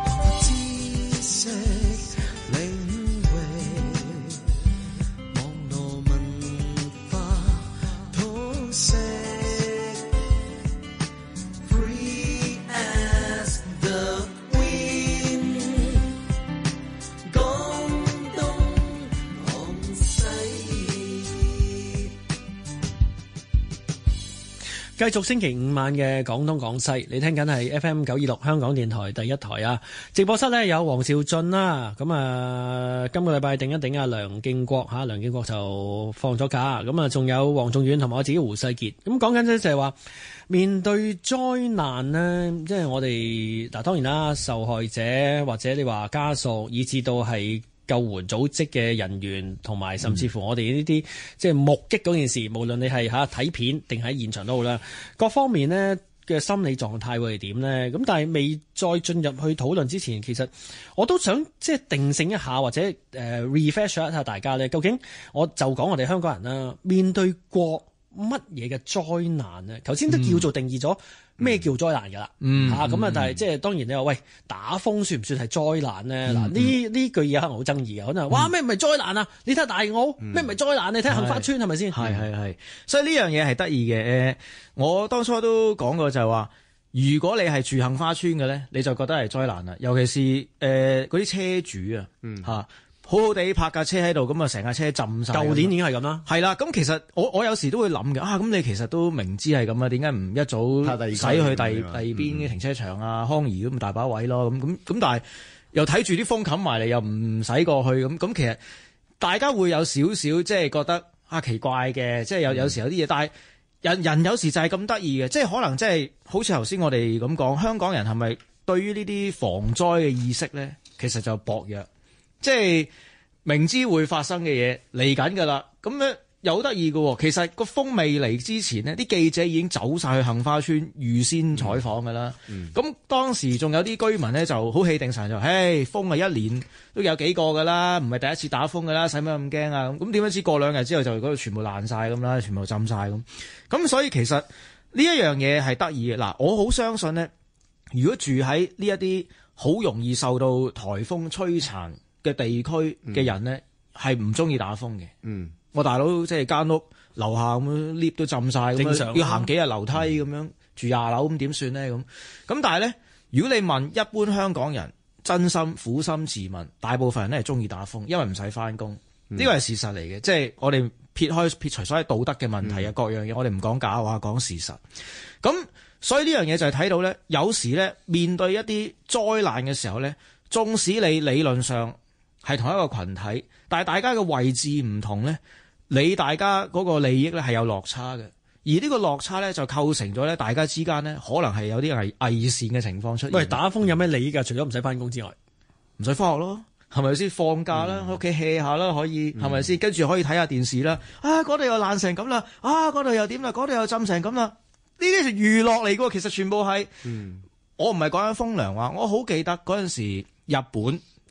繼續星期五晚嘅廣東廣西，你聽緊係 FM 926香港電台第一台啊！直播室呢有黃兆俊啦，咁今個禮拜定一定梁敬國梁敬國就放咗假，咁仲有黃仲遠同埋我自己胡世傑，咁講緊呢就係話面對災難呢，即係我哋當然啦，受害者或者你話家屬，以至到係救援組織嘅人員，同埋甚至乎我哋呢啲即係目擊嗰件事，無論你係睇片定喺現場都好啦，各方面呢嘅心理狀態會係點呢？咁但係未再進入去討論之前，其實我都想即係定性一下，或者refresh 一下大家呢，究竟我就講我哋香港人啦，面對過乜嘢嘅災難呢？頭先都叫做定義咗咩叫災難㗎啦，咁但係即係當然你話喂，打風算唔算係災難呢？嗱呢句嘢可能好爭議嘅，可能哇咩唔係災難啊？你睇下大澳咩唔係災難？你睇杏花村係咪先？ 係，所以呢樣嘢係得意嘅。我當初都講過就係話，如果你係住杏花村嘅咧，你就覺得係災難啦。尤其是嗰啲車主啊，好好地泊架車喺度，咁啊成架車浸晒。舊年已經係咁啦。係啦，咁其實我有時都會諗嘅，咁你其實都明知係咁啊，點解唔一早駛去第二邊嘅停車場啊、康怡咁大把位咯？咁但係又睇住啲風冚埋嚟，又唔使過去咁其實大家會有少少即係覺得奇怪嘅，即係有時有啲嘢，但係人有時就係咁得意嘅，即係可能即係好似頭先我哋咁講，香港人係咪對於呢啲防災嘅意識咧，其實就薄弱。即係明知會發生嘅嘢嚟緊㗎啦，咁咧又好得意嘅喎。其實個風未嚟之前呢，啲記者已經走晒去杏花村預先採訪㗎啦。咁當時仲有啲居民咧就好氣定神就，風啊一年都有幾個㗎啦，唔係第一次打風㗎啦，使乜咁驚啊？咁點樣知過2日之後就嗰度全部爛晒咁啦，全部浸晒咁。咁所以其實呢一樣嘢係得意嘅。嗱，我好相信呢，如果住喺呢一啲好容易受到颱風摧殘嘅地區嘅人咧，係唔中意打風嘅。我大佬即係間屋樓下咁樣 lift 都浸晒，咁要行幾日樓梯咁樣，住20樓咁點算咧？咁但係咧，如果你問一般香港人，真心苦心自問，大部分人咧係中意打風，因為唔使翻工，呢個係事實嚟嘅。即係我哋撇除所謂道德嘅問題啊，各樣嘢，我哋唔講假話，講事實。咁所以呢樣嘢就係睇到咧，有時咧面對一啲災難嘅時候咧，縱使你理論上係同一個群體，但係大家嘅位置唔同咧，大家嗰個利益咧係有落差嘅，而呢個落差咧就構成咗咧大家之間咧可能係有啲偽善嘅情況出現。喂，打風有咩利益㗎？除咗唔使翻工之外，唔使翻學咯，係咪先？放假啦，喺屋企 hea 下啦，可以係咪先？跟住可以睇下電視啦。嗰度又爛成咁啦，嗰度又點啦，嗰度又浸成咁啦。呢啲係娛樂嚟㗎，其實全部係。我唔係講緊風涼話，我好記得嗰陣時日本。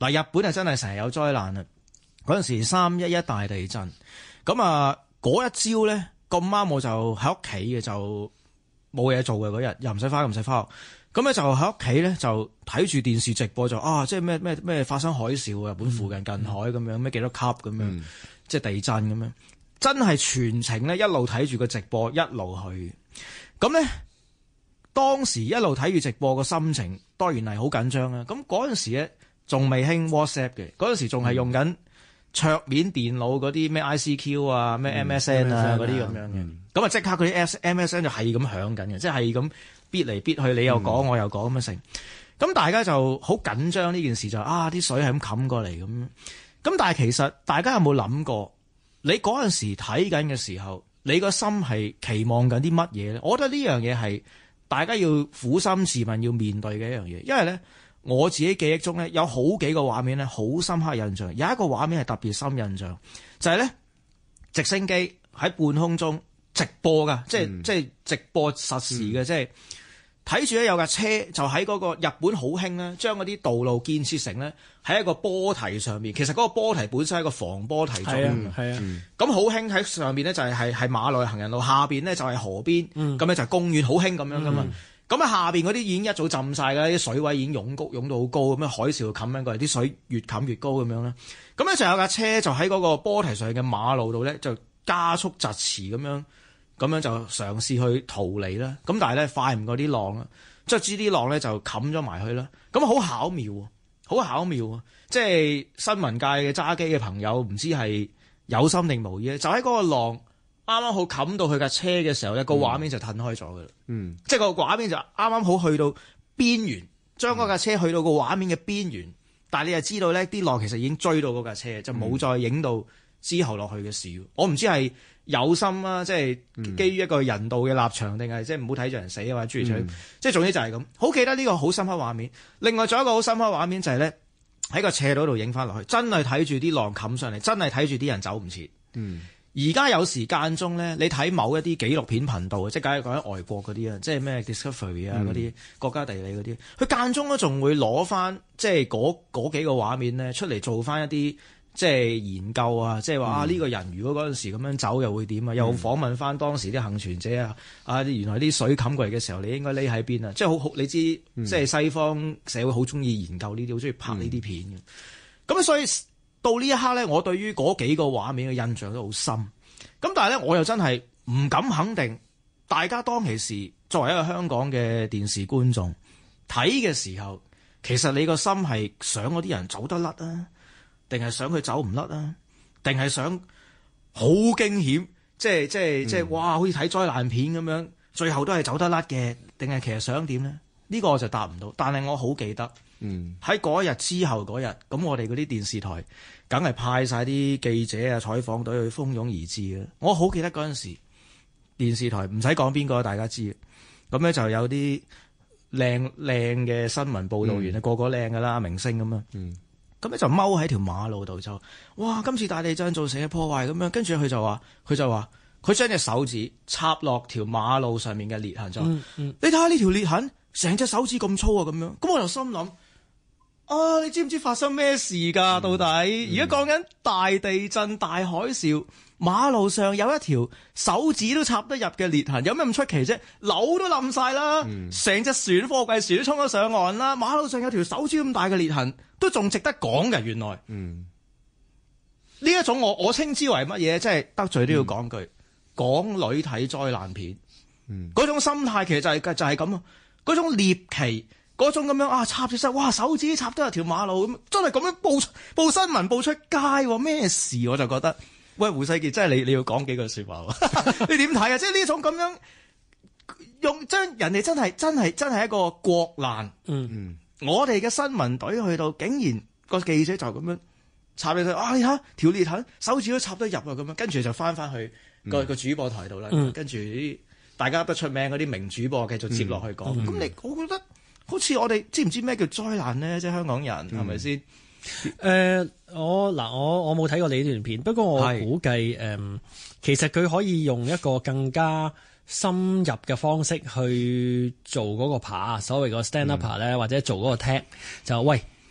嗱，日本係真係成日有災難啊！嗰陣時311大地震，咁啊嗰一朝咧咁啱我就喺屋企嘅，就冇嘢做嘅嗰日，又唔使返學，咁咧就喺屋企咧就睇住電視直播就即係咩發生海嘯，日本附近近海咁樣，咩幾多級咁樣，即係地震咁樣，真係全程咧一路睇住個直播一路去。咁咧當時一路睇住直播個心情當然係好緊張啦。咁嗰陣時咧仲未興 WhatsApp 嘅，嗰陣時仲係用緊桌面電腦嗰啲咩 ICQ 啊、咩 MSN 啊嗰啲咁樣嘅。咁啊即刻嗰啲 MSN 就係咁響緊嘅，即係咁逼嚟逼去，你又講我又講咁樣成。咁大家就好緊張呢件事，就啲水係咁冚過嚟咁。咁但係其實大家有冇諗過，你嗰陣時睇緊嘅時候，你個心係期望緊啲乜嘢咧？我覺得呢樣嘢係大家要苦心自問要面對嘅一樣嘢，因為咧我自己記憶中咧有好幾個畫面咧好深刻印象，有一個畫面係特別深印象，就係咧直升機喺半空中直播㗎，即係直播實時嘅，即係睇住咧有架車就喺嗰個日本好興咧，將嗰啲道路建設成咧喺一個波堤上面。其實嗰個波堤本身係一個防波堤狀嘅，咁好興喺上面咧就係馬路行人路，下邊咧就係河邊，咁咧就係公園，好興咁樣噶嘛。咁啊下邊嗰啲已經一早浸晒㗎，啲水位已經湧到好高，咁樣海嘯冚緊過嚟，啲水越冚越高咁樣啦。咁咧就有架車就喺嗰個波堤上嘅馬路度咧就加速疾馳咁樣就嘗試去逃離啦。咁但係咧快唔過啲浪啦，即係知啲浪咧就冚咗埋去啦。咁好巧妙啊！即係新聞界嘅揸機嘅朋友，唔知係有心定無意咧，就喺嗰個浪啱啱好冚到佢架車嘅時候，一個畫面就褪開咗噶啦。即係個畫面就啱啱好去到邊緣，將嗰架車去到個畫面嘅邊緣。但係你就知道咧，啲浪其實已經追到嗰架車，就冇再影到之後落去嘅事。我唔知係有心啊，即係基於一個人道嘅立場，定係即係唔好睇住人死啊，或者諸如此類。即係總之就係咁。好記得呢個好深刻畫面。另外仲有一個好深刻畫面就係咧喺個斜度度影翻落去，真係睇住啲浪冚上嚟，真係睇住啲人走唔切。而家有時間中咧，你睇某一啲紀錄片頻道，即係梗係講緊外國嗰啲啊，即係咩 Discovery 啊嗰啲國家地理嗰啲，佢間中都仲會攞翻即係嗰幾個畫面咧出嚟做翻一啲即係研究啊，即係話呢個人如果嗰陣時咁樣走又會點啊？又訪問翻當時啲幸存者啊，原來啲水冚過嚟嘅時候，你應該匿喺邊啊？即係好你知，即係西方社會好中意研究呢啲，好中意拍呢啲片嘅。咁所以到呢一刻咧，我對於嗰幾個畫面嘅印象都好深。咁但係咧，我又真係唔敢肯定，大家當其時作為一個香港嘅電視觀眾睇嘅時候，其實你個心係想嗰啲人走得甩啊，定係想佢走唔甩啊，定係想好驚險，即係哇，好似睇災難片咁樣，最後都係走得甩嘅，定係其實想點咧？呢個我就答唔到。但係我好記得。喺嗰一日之後嗰日，咁我哋嗰啲電視台梗係派晒啲記者啊、採訪隊去蜂擁而至嘅。我好記得嗰陣時，電視台唔使講邊個，大家知嘅。咁咧就有啲靚嘅新聞報導員個個靚㗎啦，明星咁啊。咁咧就踎喺條馬路度就，哇！今次大地震造成嘅破壞咁樣，跟住佢就話佢將隻手指插落條馬路上面嘅裂痕就，你睇下呢條裂痕，成隻手指咁粗啊咁樣。咁我就心諗。你知唔知發生咩事㗎？到底而家講緊大地震、大海嘯，馬路上有一條手指都插得入嘅裂痕，有咩咁出奇啫？樓都冧晒啦，成隻船貨櫃船都衝咗上岸啦，馬路上有條手指咁大嘅裂痕，都仲值得講嘅。原來呢一種我稱之為乜嘢？即係得罪都要講句，港女睇災難片，嗰種心態其實就係咁啊，嗰種獵奇。嗰種咁樣插住哇手指插得入條馬路咁，真係咁樣報新聞報出街咩事？我就覺得，喂，胡世傑，真係你要講幾句説話喎？你點睇啊？即係呢種咁樣用將人哋真係一個國難。我哋嘅新聞隊去到，竟然個記者就咁樣插你睇，你睇條裂痕，手指都插得入啊咁樣，跟住就翻去個主播台度啦。跟住啲大家不出名嗰啲名主播繼續接落去講。咁我覺得。好似我哋知唔知咩叫災難呢？即係香港人係咪先？ 我冇睇過你呢段片，不過我估計其實佢可以用一個更加深入嘅方式去做嗰個爬，所謂個 stand up 咧，或者做嗰個 tag 就喂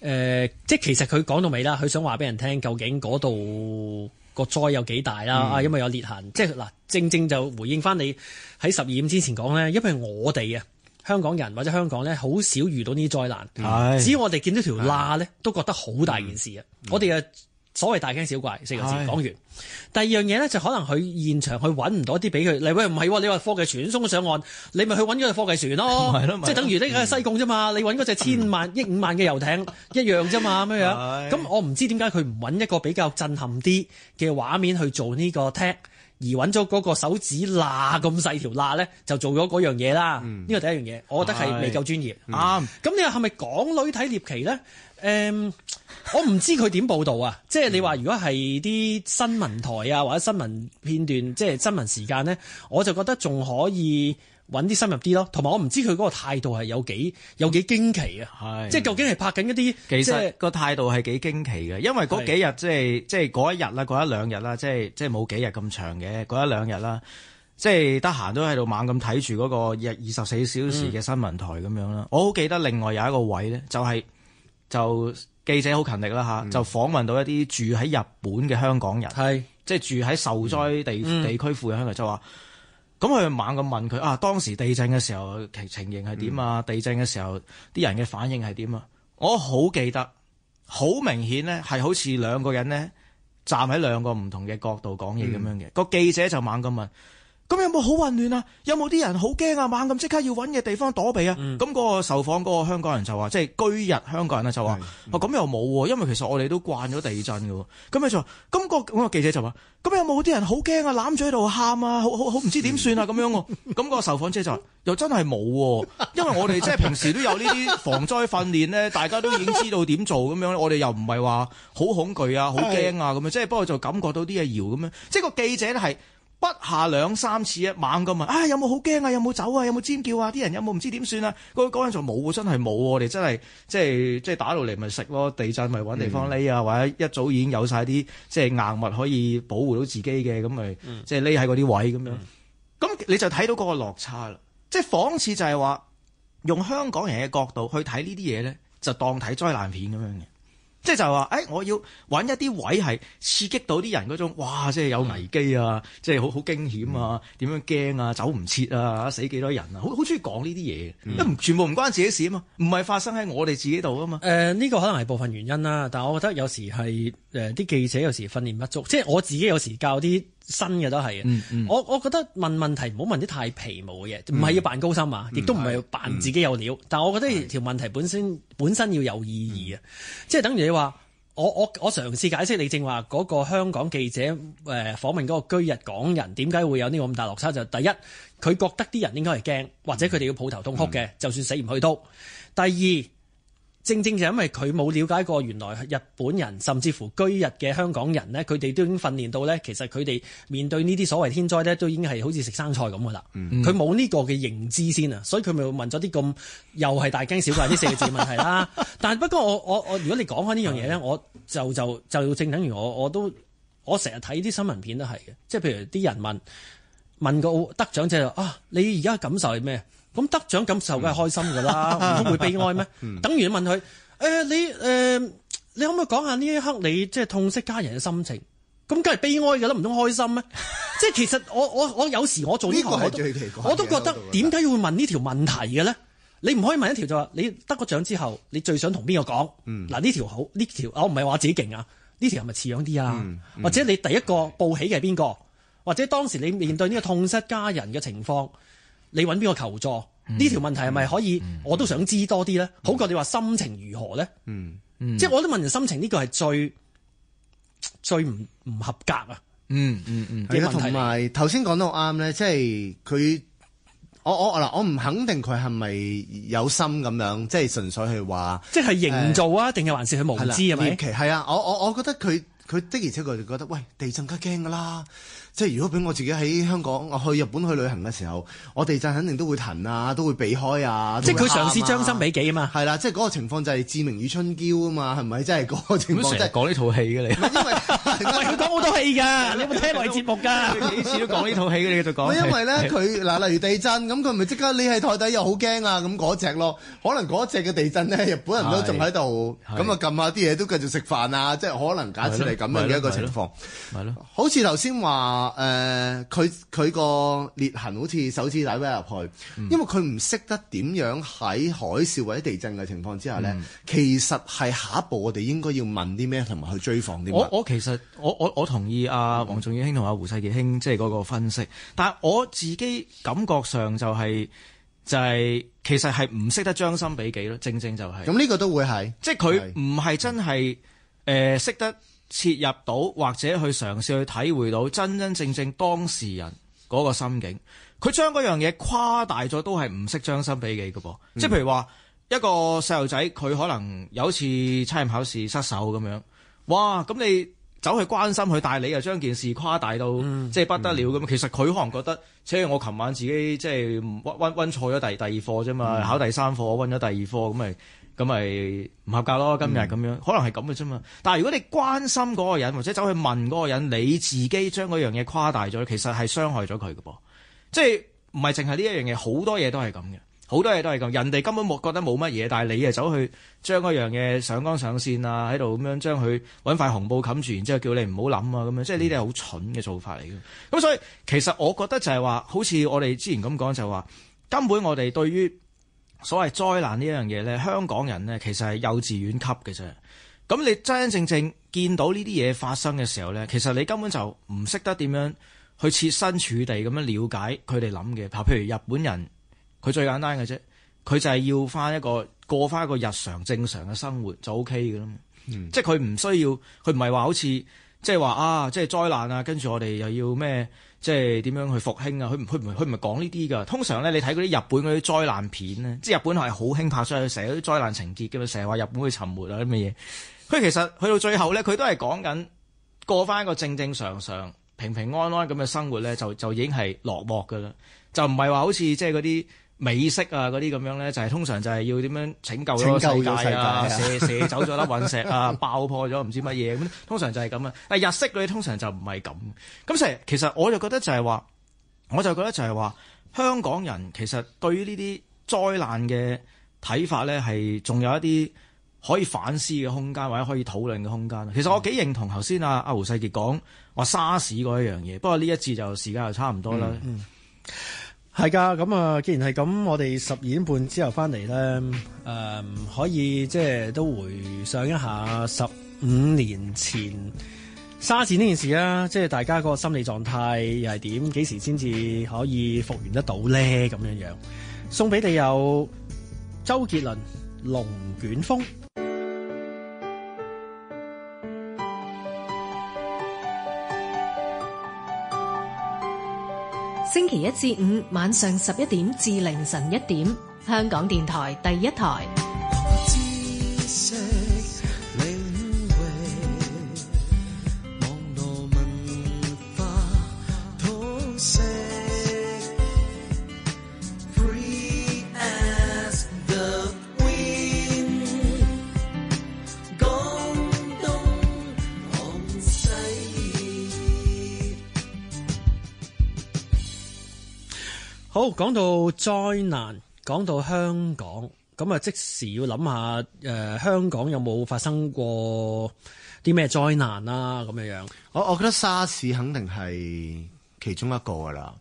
即係其實佢講到尾啦，佢想話俾人聽究竟嗰度個災有幾大啦？因為有裂痕，即係嗱，正就回應翻你喺12點之前講咧，因為我哋啊香港人或者香港咧好少遇到呢啲災難，只要我哋見到條罅咧，都覺得好大件事啊！我哋嘅所謂大驚小怪4個字講完。第二樣嘢咧就可能佢現場去揾唔到一啲俾佢，喂唔係，你話貨櫃船鬆咗上岸，你咪去揾嗰隻貨櫃船咯，即係等於呢個西貢啫嘛，你揾嗰隻千萬億5萬嘅遊艇一樣啫嘛咁樣。咁我唔知點解佢唔揾一個比較震撼啲嘅畫面去做呢個 tag，而揾咗嗰個手指罅咁細條罅咧，就做咗嗰樣嘢啦。呢個第一樣嘢，我覺得係未夠專業。啱。咁你話係咪港女睇獵奇咧？我唔知佢點報導啊！即係你話如果係啲新聞台啊或者新聞片段，即係新聞時間咧，我就覺得仲可以揾啲深入啲咯。同埋我唔知佢嗰個態度係有幾驚奇啊！即係究竟係拍緊一啲， 其實個態度係幾驚奇嘅，因為嗰幾日即係嗰一日啦，嗰一兩日啦，即係冇幾日咁長嘅嗰一兩日啦，即係得閒都喺度猛咁睇住嗰個24小時嘅新聞台咁樣啦。我好記得另外有一個位咧，就記者好勤力啦嚇，就訪問到一啲住喺日本嘅香港人，即係住喺受災地區附近香港人，就話咁佢猛咁問佢啊，當時地震嘅時候情形係點啊？地震嘅時候啲人嘅反應係點啊？我好記得，好明顯咧係好似兩個人咧站喺兩個唔同嘅角度講嘢咁樣嘅。個記者就猛咁問。咁有冇好混亂啊？有冇啲人好驚啊？猛咁即刻要揾嘅地方躲避啊？咁嗰個受訪嗰個香港人就話，即係居日香港人咧就話，咁又冇喎，因為其實我哋都慣咗地震嘅喎。咁佢就話，咁個記者就話，咁有冇啲人好驚啊？攬住喺度喊啊，好唔知點算啊咁樣喎。咁個受訪者就話，又真係冇喎，因為我哋即係平時都有呢啲防災訓練咧，大家都已經知道點做咁樣。我哋又唔係話好恐懼啊、好驚啊咁樣，即係不過就感覺到啲嘢搖咁樣。即係個記者咧係。不下2、3次猛咁問，有冇好驚啊？有冇走啊？有冇尖叫啊？啲人有冇唔知點算啊？嗰陣就冇，真係冇。我哋真係即係打到嚟咪食咯，地震咪揾地方匿啊，或者一早已經有晒啲即係硬物可以保護到自己嘅，咁咪即係匿喺嗰啲位咁樣。咁你就睇到嗰個落差啦。即係諷刺就係話，用香港人嘅角度去睇呢啲嘢咧，就當睇災難片咁樣嘅。即係就係話，我要揾一啲位係刺激到啲人嗰種，哇！即係有危機啊，即係好驚險啊，點樣驚啊，走唔切啊，死幾多人啊，好中意講呢啲嘢，因為全部唔關自己事啊嘛，唔係發生喺我哋自己度啊嘛。呢個可能係部分原因啦，但係我覺得有時係啲記者有時訓練不足，即係我自己有時教啲新嘅都係我覺得問問題唔好問啲太皮毛嘅嘢，唔係要扮高深啊，亦都唔係要扮自己有料，但係我覺得條問題本身要有意義啊，即係等於你話我嘗試解釋你正話嗰個香港記者訪問嗰個居日港人點解會有呢個咁大落差，就第一佢覺得啲人應該係驚，或者佢哋要抱頭痛哭嘅，就算死唔去都。第二正就因為佢冇了解過原來日本人甚至乎居日嘅香港人呢，佢哋都已經訓練到呢，其實佢哋面對呢啲所謂天災呢，都已經係好似食生菜咁噶啦。佢冇呢個嘅認知先啊，所以佢咪問咗啲咁又係大驚小怪呢4個字問題啦。但係不過我如果你講開呢樣嘢呢，我就正等於我成日睇啲新聞片都係嘅，即係譬如啲人問個得獎者啊，你而家感受係咩？咁得獎感受梗係開心㗎啦，唔通會悲哀咩？等於問佢你可唔可以講下呢一刻你即係痛惜家人嘅心情？咁梗係悲哀㗎啦，唔通開心咩？即係其實我有時我做呢行我都覺得點解要問呢條問題嘅咧？你唔可以問一條就話你得個獎之後，你最想同邊個講？嗱呢條好，呢條我唔係話自己勁啊，呢條係咪似樣啲啊？或者你第一個報喜嘅係邊個？或者當時你面對呢個痛失家人嘅情況，你揾邊個求助？呢條問題係咪可以？我都想知多啲咧，好過你話心情如何咧？即係我都問人心情，呢個係最唔合格啊！ 係啊，同埋頭先講到啱咧，即係佢我唔肯定佢係咪有心咁樣，即係純粹係話， 即係營造啊，定係還是佢無知係咪？ 係啊，我覺得佢佢的而且確就覺得，喂，地震梗係驚㗎啦！即係如果俾我自己喺香港，我去日本去旅行嘅時候，我地震肯定都會騰啊，都會避開啊。 即係佢嘗試將心比己啊嘛。 係啦，即係嗰個情況就係志明與春嬌啊嘛，係咪？即係嗰個情況。 成日講呢套戲嘅你。 因為喂，佢講好多戲㗎，你有冇聽我哋節目㗎？ 幾次都講呢套戲嘅，你繼續講。 因為咧，佢嗱，例如地震咁，佢咪即刻匿喺台底又好驚啊！咁嗰隻咯，可能嗰隻嘅地震咧，日本人都仲喺度，咁啊撳下啲嘢都繼續食飯啊！即係可能假設係咁樣嘅一個情況。 係咯。 好似頭先話佢個裂痕好似手指底搲入去，因為佢唔識得點樣喺海嘯或者地震嘅情況之下咧，其實係下一步我哋應該要問啲咩，同埋去追訪啲乜。 我其實我同意阿黃仲遠兄同阿胡世傑兄即係嗰個分析，但係我自己感覺上就係其實係唔識得將心比己咯，正就係。 咁呢個都會係， 即係佢唔係真係識得切入到或者去嘗試去體會到真正當事人嗰個心境，佢將嗰樣嘢誇大咗，都係唔識將心比己嘅噃。即係譬如話一個細路仔，佢可能有次測驗考試失手咁樣，哇！咁你走去關心佢，但係你又將件事誇大到即係不得了咁。其實佢可能覺得，我琴晚自己即係溫錯咗第二課啫嘛，考第3課我溫咗第2課咁咪唔合格咯，今日咁樣，可能係咁嘅啫嘛。但係如果你關心嗰個人，或者走去問嗰個人，你自己將嗰樣嘢誇大咗，其實係傷害咗佢嘅噃。即係唔係淨係呢一樣嘢，好多嘢都係咁嘅，好多嘢都係咁。人哋根本覺得冇乜嘢，但係你走去將嗰樣嘢上綱上線啊，喺度咁樣將佢揾塊紅布冚住，然之後叫你唔好諗啊咁樣，即係呢啲係好蠢嘅做法嚟嘅。咁所以其實我覺得就係話，好似我哋之前咁講就係話，根本我哋對於所謂災難呢樣嘢咧，香港人咧其實係幼稚園級嘅啫。咁你真真正正見到呢啲嘢發生嘅時候咧，其實你根本就唔識得點樣去設身處地咁樣了解佢哋諗嘅。譬如日本人，佢最簡單嘅啫，佢就係要過翻一個日常正常嘅生活就 OK 嘅啦。即係佢唔需要，佢唔係話好似即係話啊，即係災難啊，跟住我哋又要咩？即係點樣去復興啊？佢唔係講呢啲㗎。通常咧，你睇嗰啲日本嗰啲災難片咧，即係日本係好興拍出去，成日啲災難情節㗎嘛，成日話日本會沉沒啊啲乜嘢。佢其實去到最後咧，佢都係講緊過翻一個正正常常、平平安安咁嘅生活咧，就已經係落幕㗎啦。就唔係話好似即係嗰啲美式啊嗰啲咁樣咧，就係通常就係要點樣拯救咗個世界啊，射走咗粒隕石啊，爆破咗唔知乜嘢咁，通常就係咁啊。但係日式嗰啲通常就唔係咁。咁其實我就覺得就係話，香港人其實對於呢啲災難嘅睇法咧，係仲有一啲可以反思嘅空間，或者可以討論嘅空間。其實我幾認同頭先阿胡世傑講話沙士嗰一樣嘢，不過呢一節就時間又差唔多啦。 係㗎，咁啊，既然係咁，我哋12點半之後翻嚟咧，可以即係都回想一下15年前沙士呢件事啦，即係大家個心理狀態又係點？幾時先至可以復原得到咧？咁樣樣送俾你有周杰倫《龍捲風》。 星期一至五晚上11點至凌晨1點，香港電台第一台。 好，講到災難，講到香港，咁啊即時要諗下香港有冇發生過啲咩災難啦咁樣樣。 我覺得沙士肯定係其中一個㗎啦。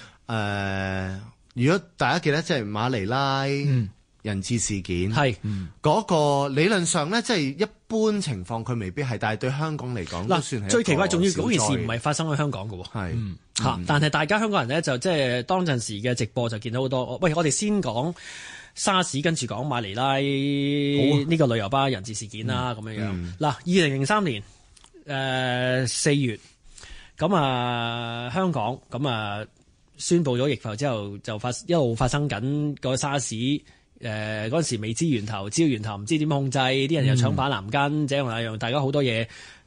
如果大家記得即係馬尼拉人質事件，係嗰個理論上咧，即係一般情況佢未必係，但係對香港嚟講都算係。最奇怪，仲要嗰件事唔係發生喺香港嘅喎。係但係大家香港人咧就即係當陣時嘅直播就見到好多。喂，我哋先講沙士，跟住講馬尼拉呢個旅遊巴人質事件啦，咁樣樣。嗱，2003年4月，咁啊香港咁啊宣布咗疫埠之後，就一路發生緊個沙士。嗰陣時未知源頭唔知點控制，啲人又搶板藍根，這樣那樣，大家好多嘢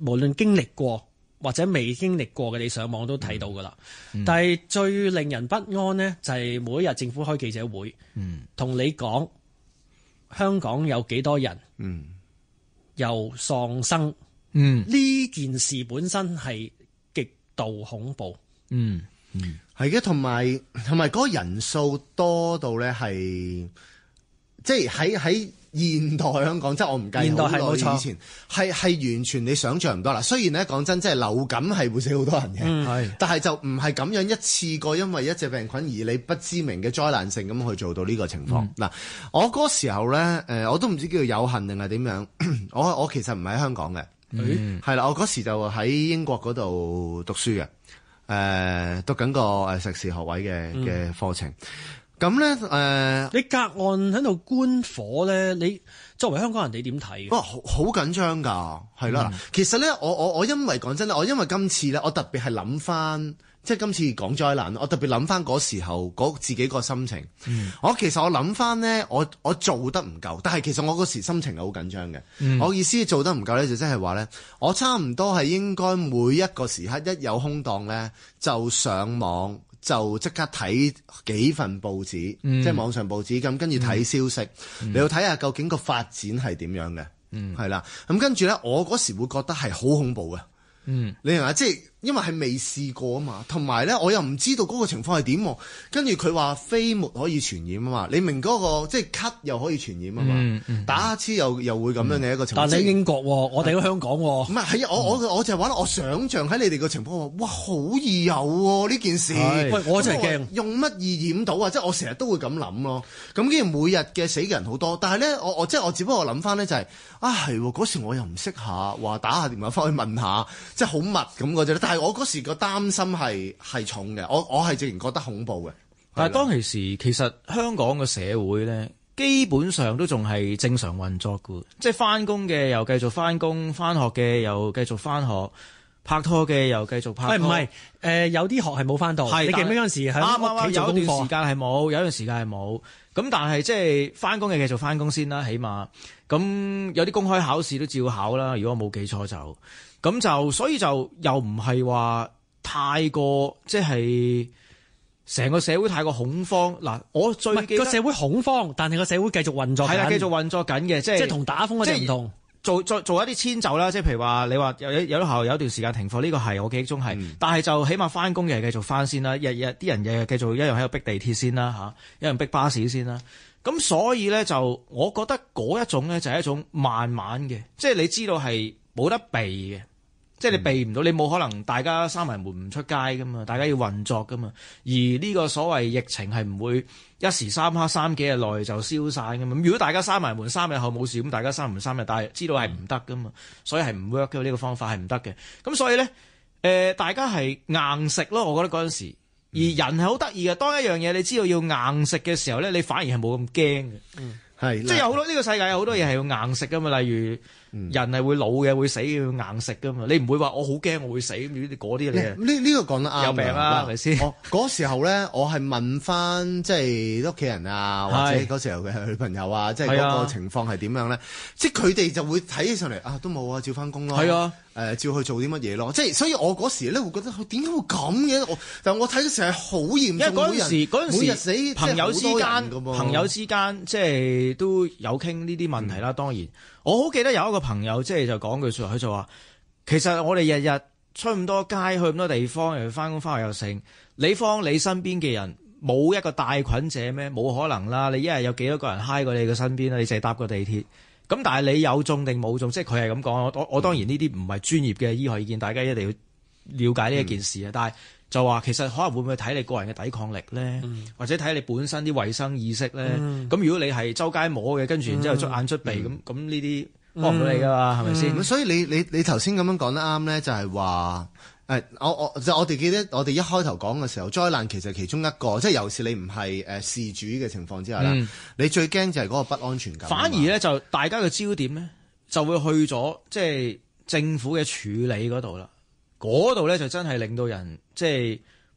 無論經歷過或者未經歷過嘅，你上網都睇到噶啦。但係最令人不安呢，就係每一日政府開記者會，同你講香港有幾多人又喪生。呢件事本身係極度恐怖。 係嘅，同埋嗰個人數多到咧係，即係喺現代香港，即係我唔計好耐以前，係完全你想象唔到啦。雖然咧講真，即係流感係會死好多人嘅，但係就唔係咁樣一次過，因為一隻病菌而你不知名嘅災難性咁去做到呢個情況。嗱，我嗰時候咧，我都唔知叫做有幸定係點樣。我其實唔喺香港嘅，係啦，我嗰時就喺英國嗰度讀書嘅，讀緊個碩士學位嘅課程。咁咧， 你隔岸喺度觀火咧，你作為香港人，你點睇？ 哇，好緊張㗎，係啦。其實咧，我因為講真咧，我因為今次咧，我特別係諗翻，即係今次講災難，我特別諗翻嗰時候自己個心情。其實我諗翻咧，我做得唔夠，但係其實我嗰時心情係好緊張嘅。我意思做得唔夠咧，就即係話咧，我差唔多係應該每一個時刻一有空檔咧，就上網。就即刻睇幾份報紙，即係網上報紙咁，跟住睇消息，你要睇下究竟個發展係點樣嘅，係啦。咁跟住咧，我嗰時會覺得係好恐怖嘅，你明嘛？即係因為係未試過啊嘛，同埋咧我又唔知道嗰個情況係點。跟住佢話飛沫可以傳染啊嘛，你明嗰個即係咳又可以傳染啊嘛，打乞嗤又會咁樣嘅一個情況。 但你英國，我哋喺香港。唔係我就係話我想像喺你哋個情況話，哇好易有喎呢件事。 喂，我真係驚用乜易染到啊！即係我成日都會咁諗咯。咁既然每日嘅死嘅人好多，但係咧我只不過諗翻咧就係係嗰時我又唔識下話打下電話翻去問下，即係好密咁嗰隻。但係我嗰時個擔心係重嘅，我係直然覺得恐怖嘅。 但係當其時，其實香港嘅社會咧，基本上都仲係正常運作嘅，即係翻工嘅又繼續翻工，翻學嘅又繼續翻學，拍拖嘅又繼續拍拖。 唔係有啲學係冇翻到。你記唔記得嗰陣時喺屋企做功課？ 有段時間係冇，有段時間係冇。咁但係即係翻工嘅繼續翻工先啦，起碼咁有啲公開考試都照考啦。如果我冇記錯就。咁就所以就又唔係話太過即係成個社會太過恐慌嗱，我最記得個社會恐慌，但係個社會繼續運作緊， 係啦，繼續運作緊嘅，即係同打風嗰啲唔同。 做一啲遷就啦，即係譬如話你話有學校有一段時間停課，呢個係我記憶中係，但係就起碼翻工嘅係繼續翻先啦，日日啲人日日繼續一樣喺度逼地鐵先啦嚇，一樣逼巴士先啦。咁所以咧就我覺得嗰一種咧就係一種慢慢嘅，即係你知道係冇得避嘅。即係你避唔到，你冇可能大家閂埋門唔出街噶嘛，大家要運作噶嘛。而呢個所謂疫情係唔會一時三刻3幾日內就消散噶嘛。如果大家閂埋門3日後冇事，咁大家閂門3日，但係知道係唔得噶嘛，所以係唔 work 嘅，呢個方法係唔得嘅。咁所以咧，大家係硬食咯，我覺得嗰陣時。而人係好得意嘅，當一樣嘢你知道要硬食嘅時候咧，你反而係冇咁驚嘅。係，即係有好多呢個世界有好多嘢係要硬食噶嘛，例如。人係會老嘅，會死嘅，要硬食噶嘛。你唔會話我好驚我會死，嗰啲你呢個講得啱。 有病啦，係咪先？ 嗰時候咧，我係問翻即係屋企人啊，或者嗰時候嘅女朋友啊，即係嗰個情況係點樣咧？即係佢哋就會睇起上嚟都冇啊，照翻工咯。係啊，照去做啲乜嘢咯？即係所以我嗰時咧會覺得點解會咁嘅？但我睇到成日好嚴重，因為嗰陣時死朋友之間即係都有傾呢啲問題啦。當然。我好記得有一個朋友即係就講句説話，佢就話：其實我哋日日出咁多街，去咁多地方，又翻工翻學又剩，你方你身邊嘅人冇一個帶菌者咩？冇可能啦！你一日有幾多個人揩過你嘅身邊啦？你淨係搭個地鐵，咁但係你有中定冇中？即係佢係咁講。我當然呢啲唔係專業嘅醫學意見，大家一定要了解呢一件事啊。但係就話其實可能會唔會睇你個人嘅抵抗力咧，或者睇你本身啲衞生意識咧。咁如果你係周街摸嘅，跟住然之後捽眼捽鼻咁呢啲幫唔到你噶嘛，係咪先？ 所以你頭先咁樣講得啱咧，就係話我哋記得我哋一開頭講嘅時候，災難其實其中一個，即係尤其是你唔係事主嘅情況之下啦，你最驚就係嗰個不安全感。 反而咧就大家嘅焦點咧就會去咗即係政府嘅處理嗰度啦。嗰度咧就真係令到人即係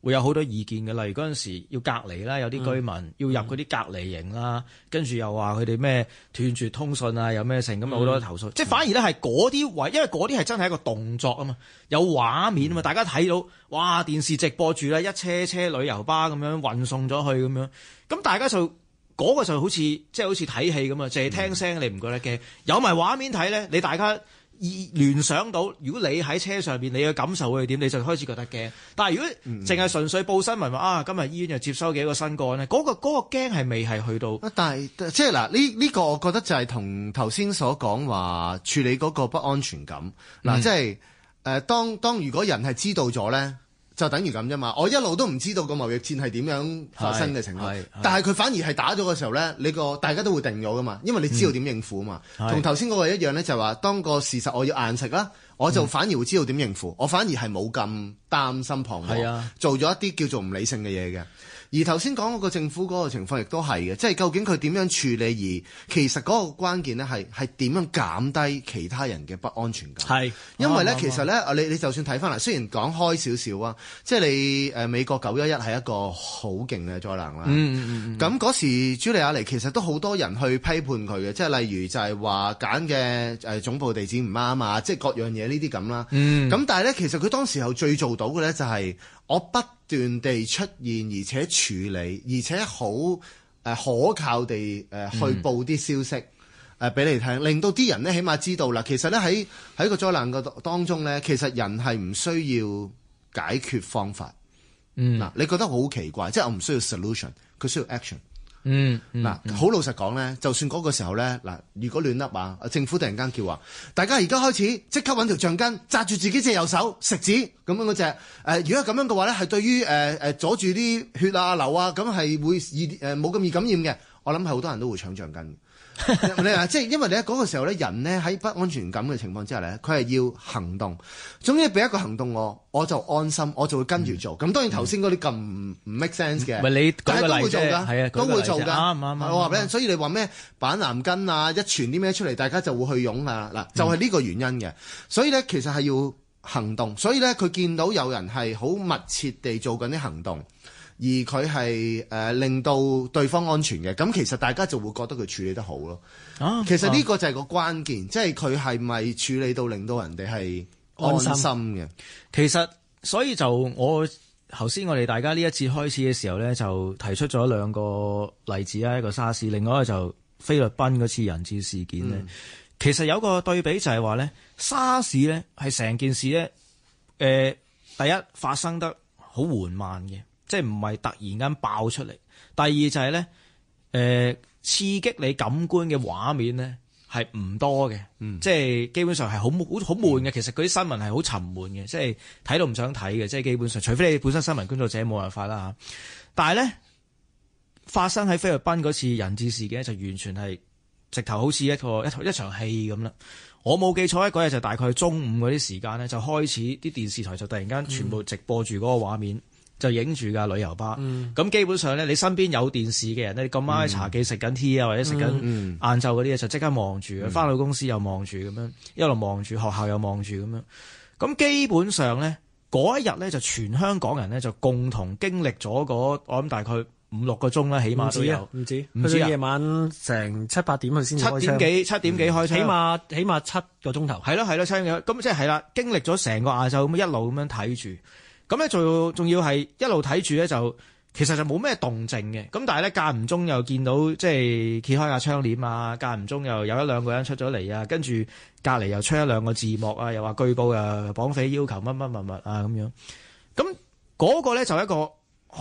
會有好多意見嘅，例如嗰陣時要隔離啦，有啲居民要入嗰啲隔離營啦，跟住又話佢哋咩斷絕通訊啊，有咩成咁好多投訴，即係反而咧係嗰啲位，因為嗰啲係真係一個動作啊嘛，有畫面啊嘛，大家睇到哇電視直播住啦，一車車旅遊巴咁樣運送咗去咁樣，咁大家就嗰個就好似即係好似睇戲咁啊，淨係聽聲你唔覺得驚，有埋畫面睇咧，你大家聯想到，如果你喺車上邊，你嘅感受會係點？你就開始覺得驚。但係如果淨係純粹報新聞話今日醫院又接收幾個新個案咧，嗰個驚係未係去到。但係即係嗱，呢個我覺得就係同頭先所講話處理嗰個不安全感嗱，即係當如果人係知道咗咧。就等於咁啫嘛，我一路都唔知道個貿易戰係點樣發生嘅情況，但係佢反而係打咗嘅時候咧，大家都會定咗噶嘛，因為你知道點應付啊嘛。同頭先嗰個一樣咧，就係話當個事實我要硬食啦，我就反而會知道點應付，我反而係冇咁擔心彷徨，做咗一啲叫做唔理性嘅嘢嘅。而頭先講嗰個政府嗰個情況亦都係嘅，即係究竟佢點樣處理，而其實嗰個關鍵咧係點樣減低其他人嘅不安全感。係，因為咧其實咧你就算睇翻嚟，雖然講開少少啊，即係你美國911係一個好勁嘅災難啦。咁嗰時朱利亞尼其實都好多人去批判佢嘅，即係例如就係話揀嘅總部地址唔啱啊，即係各樣嘢呢啲咁啦。咁但係咧其實佢當時候最做到嘅咧就係我不斷地出現，而且處理，而且好可靠地去報啲消息俾你聽，令到啲人咧起碼知道啦。其實咧喺個災難個當中咧，其實人係唔需要解決方法。嗱，你覺得好奇怪，即係我唔需要 solution， 佢需要 action。好老實講咧，就算嗰個時候咧，嗱，如果亂笠啊，政府突然間叫話，大家而家開始即刻揾條橡筋紮住自己隻右手食指咁樣嗰隻，如果咁樣嘅話咧，係對於阻住啲血啊流啊，咁係會冇咁易感染嘅。我諗係好多人都會搶橡筋。你話即係因為你喺嗰個時候咧，人咧喺不安全感嘅情況之下咧，佢係要行動。總之俾一個行動我就安心，我就會跟住做。咁當然頭先嗰啲咁唔 make sense 嘅，但係都會做㗎，係啊，都會做㗎。啱。我話俾你，所以你話咩板藍根啊，一傳啲咩出嚟，大家就會去湧啊。嗱，就係呢個原因嘅。所以咧，其實係要行動。所以咧，佢見到有人係好密切地做緊啲行動。而佢係令到對方安全嘅，咁其實大家就會覺得佢處理得好咯。其實呢個就係個關鍵，即係佢係咪處理到令到人哋係安心嘅。其實所以就我頭先我哋大家呢一次開始嘅時候咧，就提出咗兩個例子啊，一個沙士，另外一個就菲律賓嗰次人質事件咧。其實有個對比就係話咧，沙士咧係成件事咧，第一發生得好緩慢嘅。即係唔係突然間爆出嚟。第二就係咧，刺激你感官嘅畫面咧係唔多嘅，即係基本上係好悶嘅。其實嗰啲新聞係好沉悶嘅，即係睇到唔想睇嘅。即係基本上，除非你本身新聞工作者冇辦法啦嚇。但係咧，發生喺菲律賓嗰次人質事件就完全係直頭好似一場戲咁啦。我冇記錯嗰日就大概中午嗰啲時間咧，就開始啲電視台就突然間全部直播住嗰個畫面。就影住架旅遊巴，咁基本上咧，你身邊有電視嘅人咧，你咁啱喺茶記食緊 tea 啊，或者食緊晏晝嗰啲嘢，就即刻望住，翻到公司又望住咁樣，一路望住，學校又望住咁樣。咁基本上咧，嗰一日咧就全香港人咧就共同經歷咗我諗大概5-6個鐘啦，起碼都有。唔止夜晚成7-8點佢先開槍。7點幾開槍。起碼7個鐘頭。係咯，7點幾。咁即係係啦，經歷咗成個晏晝咁一路咁樣睇住。咁咧仲要係一路睇住咧，就其實就冇咩動靜嘅。咁但係咧間唔中又見到即係揭開下窗簾啊，間唔中又有1-2個人出咗嚟啊，跟住隔離又出1-2個字幕啊，又話據報啊綁匪要求乜啊咁樣。咁嗰個咧就一個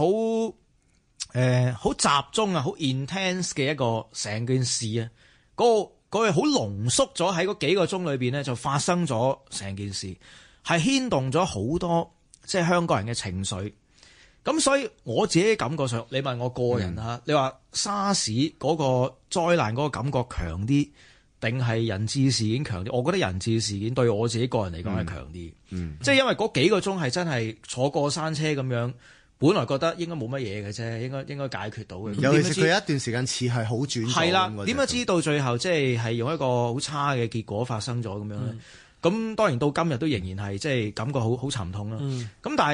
好集中啊，好 intense 嘅一個成件事啊。嗰個好濃縮咗喺嗰幾個鐘裏邊咧，就發生咗成件事，係牽動咗好多。即係香港人嘅情緒，咁所以我自己感覺上，你問我個人嚇，你話沙士嗰個災難嗰個感覺強啲，定係人質事件強啲？我覺得人質事件對我自己個人嚟講係強啲，即係因為嗰幾個鐘係真係坐過山車咁樣，本來覺得應該冇乜嘢嘅啫，應該解決到嘅。尤其是佢一段時間似係好轉，係啦，點解知道最後即係用一個好差嘅結果發生咗咁樣咧？咁當然到今日都仍然係即係感覺好沉痛啦。咁但係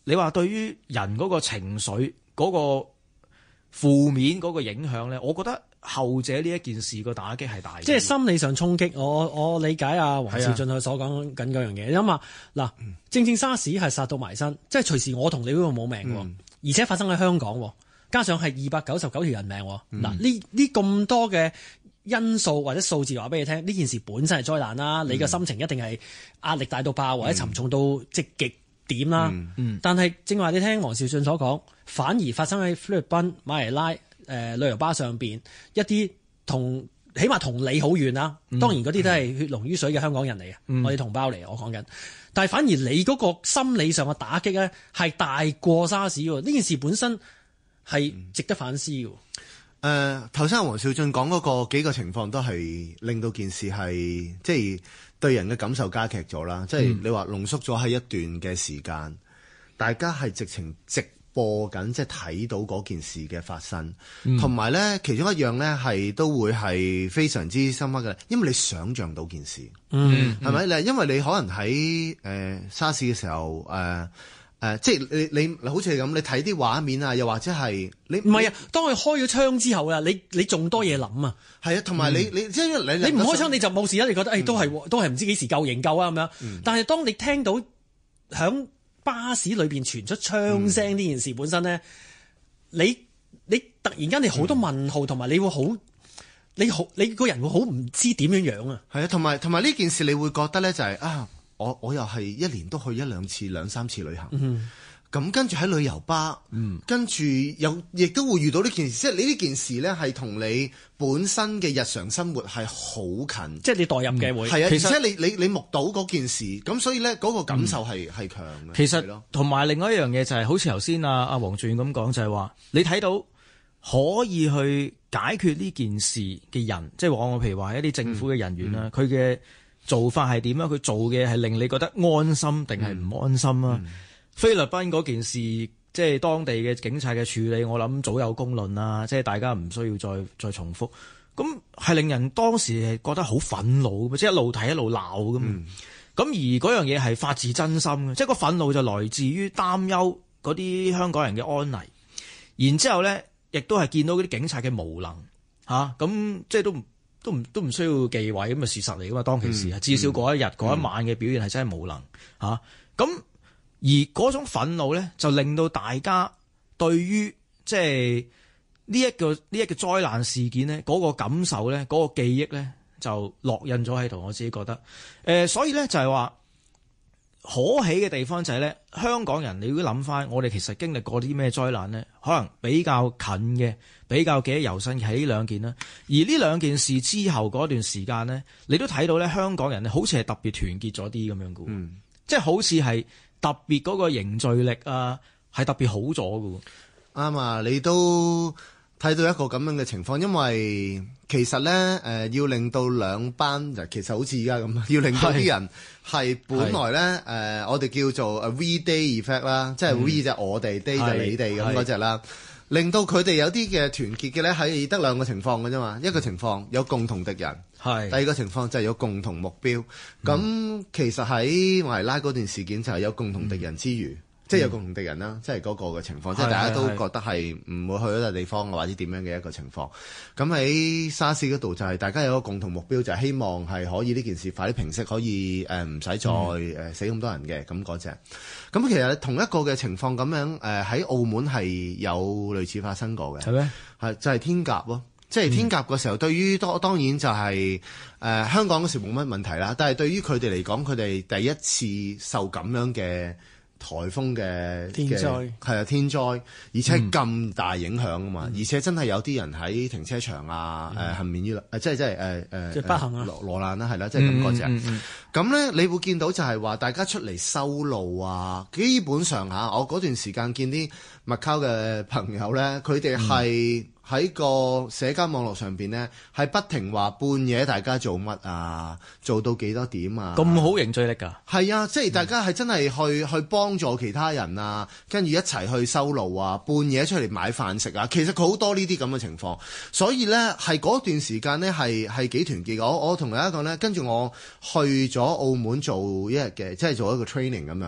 你話對於人嗰個情緒嗰個負面嗰個影響咧，我覺得後者呢一件事個打擊係大嘅， 即係心理上衝擊。我理解阿黃兆俊佢所講緊嗰樣嘢。你諗下嗱，正沙士係殺到埋身，即係隨時我同你嗰度冇命喎，而且發生喺香港，加上係299條人命。嗱，呢咁多嘅因素或者數字話俾你聽，呢件事本身係災難啦。你嘅心情一定係壓力大到爆，或者沉重到即極點啦。但係正話你聽黃兆俊所講，反而發生喺菲律賓、馬尼拉旅遊巴上邊一啲起碼同你好遠啦。當然嗰啲都係血濃於水嘅香港人嚟嘅，我哋同胞嚟，我講緊。但係反而你嗰個心理上嘅打擊咧係大過沙士喎。呢件事本身係值得反思嘅。 頭先黃兆俊講嗰個幾個情況都係令到件事係即係對人嘅感受加劇咗啦。即係你話濃縮咗喺一段嘅時間，大家係直情直播緊，即係睇到嗰件事嘅發生，同埋咧其中一樣咧係都會係非常之深刻嘅，因為你想像到件事，係咪？因為你可能喺沙士嘅時候即係你好似係咁，你睇啲畫面啊，又或者係你唔係啊。當佢開咗槍之後啊，你仲多嘢諗啊。係啊，同埋你即係你唔開槍你就冇事啦。你覺得都係唔知幾時夠營救啊咁樣。但係當你聽到響巴士裏邊傳出槍聲呢件事本身咧，你突然間你好多問號，同埋你會你個人會好唔知點樣啊。係啊，同埋呢件事你會覺得咧就係我又係一年都去1-2次、2-3次旅行，咁跟住喺旅遊巴，跟住亦都會遇到呢件事，即係你呢件事咧係同你本身嘅日常生活係好近，即係你代入嘅會係啊，而且你目睹嗰件事，咁所以咧嗰個感受係強嘅。 其實同埋另外一樣嘢就係好似頭先阿黃俊咁講，就係話你睇到可以去解決呢件事嘅人，即係我譬如話一啲政府嘅人員啦，佢嘅做法係點樣？佢做嘅係令你覺得安心定係唔安心啊？菲律賓嗰件事，即係當地嘅警察嘅處理，我諗早有公論啦，即係大家唔需要再重複。咁係令人當時係覺得好憤怒，即係一路睇一路鬧咁。咁而嗰樣嘢係發自真心嘅，即係個憤怒就來自於擔憂嗰啲香港人嘅安危，然之後咧亦都係見到嗰啲警察嘅無能嚇，咁即係都唔需要忌諱咁嘅事實嚟噶嘛。當其時至少嗰一日嗰一晚嘅表現係真係無能嚇。咁而嗰種憤怒咧，就令到大家對於即係呢一個災難事件咧，嗰個感受咧，嗰個記憶咧，就烙印咗喺度。我自己覺得，所以咧就係話可喜嘅地方就係咧，香港人你如果諗翻，我哋其實經歷過啲咩災難咧，可能比較近嘅、比較記憶猶新嘅係呢兩件啦。而呢兩件事之後嗰段時間咧，你都睇到咧，香港人咧好似係特別團結咗啲咁樣嘅，即係好似係特別嗰個凝聚力啊，係特別好咗嘅。 啱啊，你都睇到一個咁樣嘅情況，因為其實咧要令到兩班其實好似而家咁，要令到啲人係本來咧我哋叫做 V Day Effect 啦，即係 V 就我哋 Day 就你哋咁嗰隻啦，令到佢哋有啲嘅團結嘅咧係得兩個情況嘅啫嘛。一個情況有共同敵人，第二個情況就係有共同目標。咁其實喺馬尼拉嗰段事件就係有共同敵人之餘，即係有共同敵人啦，即係嗰個嘅情況，即係大家都覺得係唔會去嗰笪地方或者點樣嘅一個情況。咁喺沙士嗰度就係大家有個共同目標，就係希望係可以呢件事快啲平息，可以唔使再死咁多人嘅咁嗰隻。咁其實同一個嘅情況咁樣喺澳門係有類似發生過嘅，係咩？係就係天鴿咯。即係天鴿嘅時候，對於當然就係香港嗰時冇乜問題啦。但係對於佢哋嚟講，佢哋第一次受咁樣嘅颱風嘅天災，係啊天災，而且咁大影響啊嘛。而且真係有啲人喺停車場啊，幸免於即係不幸啊，羅難啦，係啦，即係咁嗰隻。咁咧，你會見到就係話大家出嚟修路啊，基本上我嗰段時間見啲麥溝嘅朋友咧，佢哋係喺個社交網絡上邊咧，係不停話半夜大家做乜啊，做到幾多點啊？咁好凝聚力㗎？ 係啊，即係大家係真係去幫助其他人啊，跟住一齊去修路啊，半夜出嚟買飯食啊。其實佢好多呢啲咁嘅情況，所以咧係嗰段時間咧係幾團結。我同大家講咧，跟住我去咗澳門做一日嘅，即係做一個 training 咁樣啦。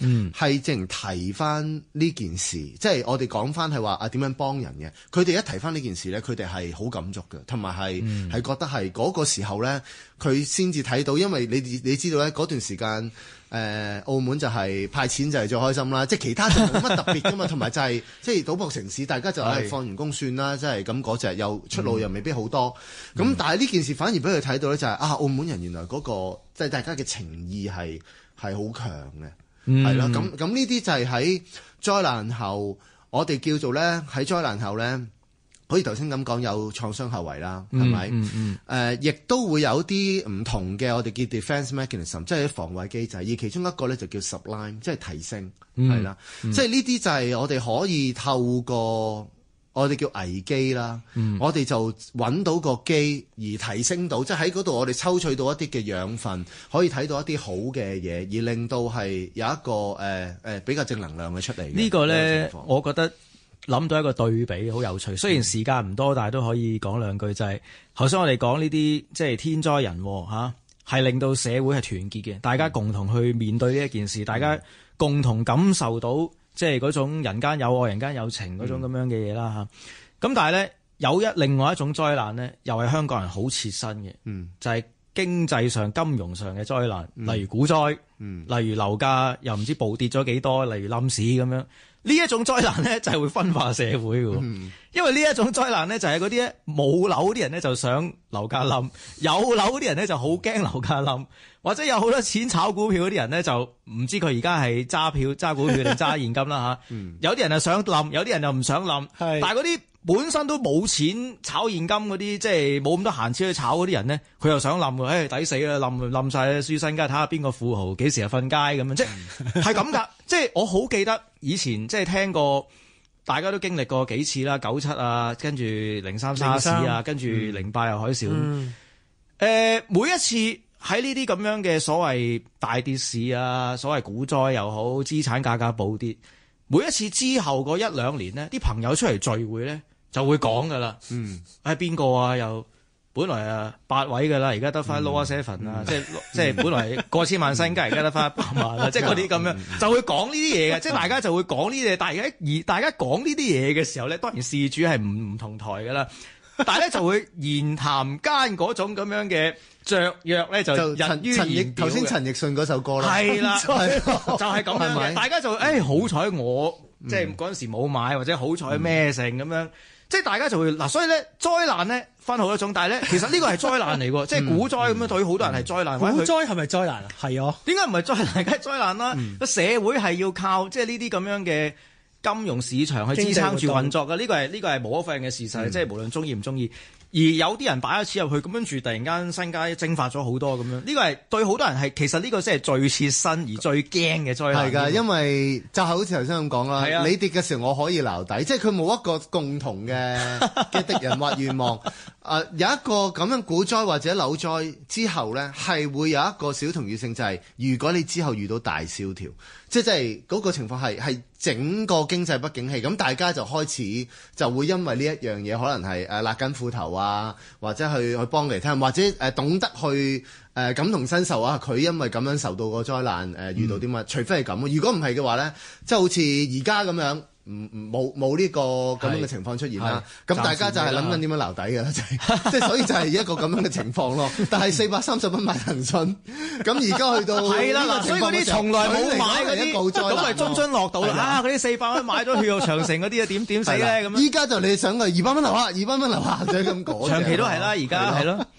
係淨提翻呢件事，即係我哋講翻係話點樣幫人嘅。佢哋一提翻呢件事咧，佢哋係好感觸嘅，同埋係覺得係嗰個時候咧，佢先至睇到，因為你知道咧嗰段時間。澳門就係派錢就係最開心啦，即係其他就冇乜特別噶嘛，同埋就係即係賭博城市，大家就係放完工算啦，即係咁嗰隻又出路又未必好多，咁但係呢件事反而俾佢睇到咧，就係澳門人原來嗰個即係大家嘅情義係好強嘅，係啦，咁呢啲就係喺災難後，我哋叫做咧喺災難後咧。好似頭先咁講有創傷後遺啦，係咪？亦都會有啲唔同嘅，我哋叫 defense mechanism， 即係防衛機制。而其中一個咧就叫 sublime， 即係提升，係啦。即係呢啲就係我哋可以透過我哋叫危機啦，我哋就揾到個機而提升到，即係喺嗰度我哋抽取到一啲嘅養分，可以睇到一啲好嘅嘢，而令到係有一個比較正能量嘅出嚟。 呢個咧，我覺得。諗到一個對比好有趣，雖然時間唔多，但係都可以講兩句，就係頭先我哋講呢啲即係天災人禍嚇，係令到社會係團結嘅，大家共同去面對呢一件事，大家共同感受到即係嗰種人間有愛、人間有情嗰種咁樣嘅嘢啦嚇。咁但係咧有另外一種災難咧，又係香港人好切身嘅，就係經濟上、金融上嘅災難，例如股災，例如樓價又唔知暴跌咗幾多，例如冧市咁樣。呢一種災難咧就係會分化社會嘅，因為呢一種災難咧就係嗰啲咧冇樓啲人咧就想樓價冧，有樓啲人咧就好驚樓價冧，或者有好多錢炒股票嗰啲人咧就唔知佢而家係揸股票定揸現金啦嚇。有啲人係想冧，有啲人又唔想冧，但係嗰啲本身都冇錢炒現金嗰啲，即係冇咁多閒錢去炒嗰啲人咧，佢又想冧喎，抵死啦，冧曬輸身家，睇下邊個富豪幾時又瞓街咁樣，即係咁㗎。即係我好記得以前即係聽過，大家都經歷過幾次啦，97啊，跟住03沙士啊，跟住08又海嘯。每一次喺呢啲咁樣嘅所謂大跌市啊，所謂股災又好，資產價格暴跌，每一次之後嗰一兩年呢，啲朋友出嚟聚會咧就會講㗎啦。邊個啊又？本來8位㗎啦，而家得翻 lower seven 啊，即係本來過千萬身家，而家得翻100萬啦，即係嗰啲咁樣就會講呢啲嘢嘅，即係大家就會講呢啲嘢。但係而大家講呢啲嘢嘅時候咧，當然事主係唔同台㗎啦，但係咧就會言談間嗰種咁樣嘅雀躍咧就溢於言表嘅。頭先陳奕迅嗰首歌啦，係啦，就係咁樣嘅。大家就好彩我即係嗰陣時冇買，或者好彩咩成咁樣。即係大家就會嗱，所以咧災難咧分好多種，但係咧其實呢個係災難嚟喎，即係股災咁樣對於好多人係災難。 股災係咪災難啊？係啊， 點解唔係災難？梗係災難啦！個社會係要靠即係呢啲咁樣嘅金融市場去支撐住運作嘅，呢個係無可否認嘅事實，即係無論中意唔中意。而有啲人擺咗錢入去，咁跟住突然間身家蒸發咗好多咁樣，呢個係對好多人係其實呢個先係最切身而最驚嘅災難。係㗎， 因為就係好似頭先咁講啦，你跌嘅時候我可以撈底，即係佢冇一個共同嘅敵人或願望。有一個咁樣股災或者樓災之後咧，係會有一個小同異性，就係如果你之後遇到大蕭條，即係嗰個情況係整個經濟不景氣，咁大家就開始就會因為呢一樣嘢，可能係勒緊褲頭啊，或者去幫嚟聽，或者懂得去感同身受啊。佢因為咁樣受到個災難遇到啲乜？除非係咁，如果唔係嘅話咧，即係好似而家咁樣。冇呢個咁樣嘅情況出現啦，咁大家就係諗緊點樣留底嘅啦，即係所以就係一個咁樣嘅情況咯。但係430蚊買騰訊，咁而家去到係啦，所以嗰啲從來冇買嗰啲，咁咪津津樂道啦。嗰啲400蚊買咗血肉長城嗰啲啊，點死咧咁？ 依家就你想去200蚊樓下，200蚊樓下就係咁講。 長期都係啦，而家係咯。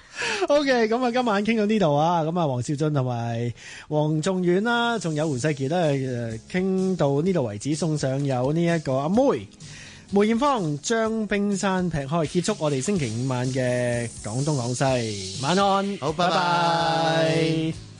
OK，咁啊，今晚傾到呢度啊，咁啊，黃少俊同埋黃仲遠啦，仲有胡世傑咧，傾到呢度為止，送上有呢一個阿梅艷芳將冰山劈開，結束我哋星期5晚嘅廣東廣西晚安， 好，拜拜。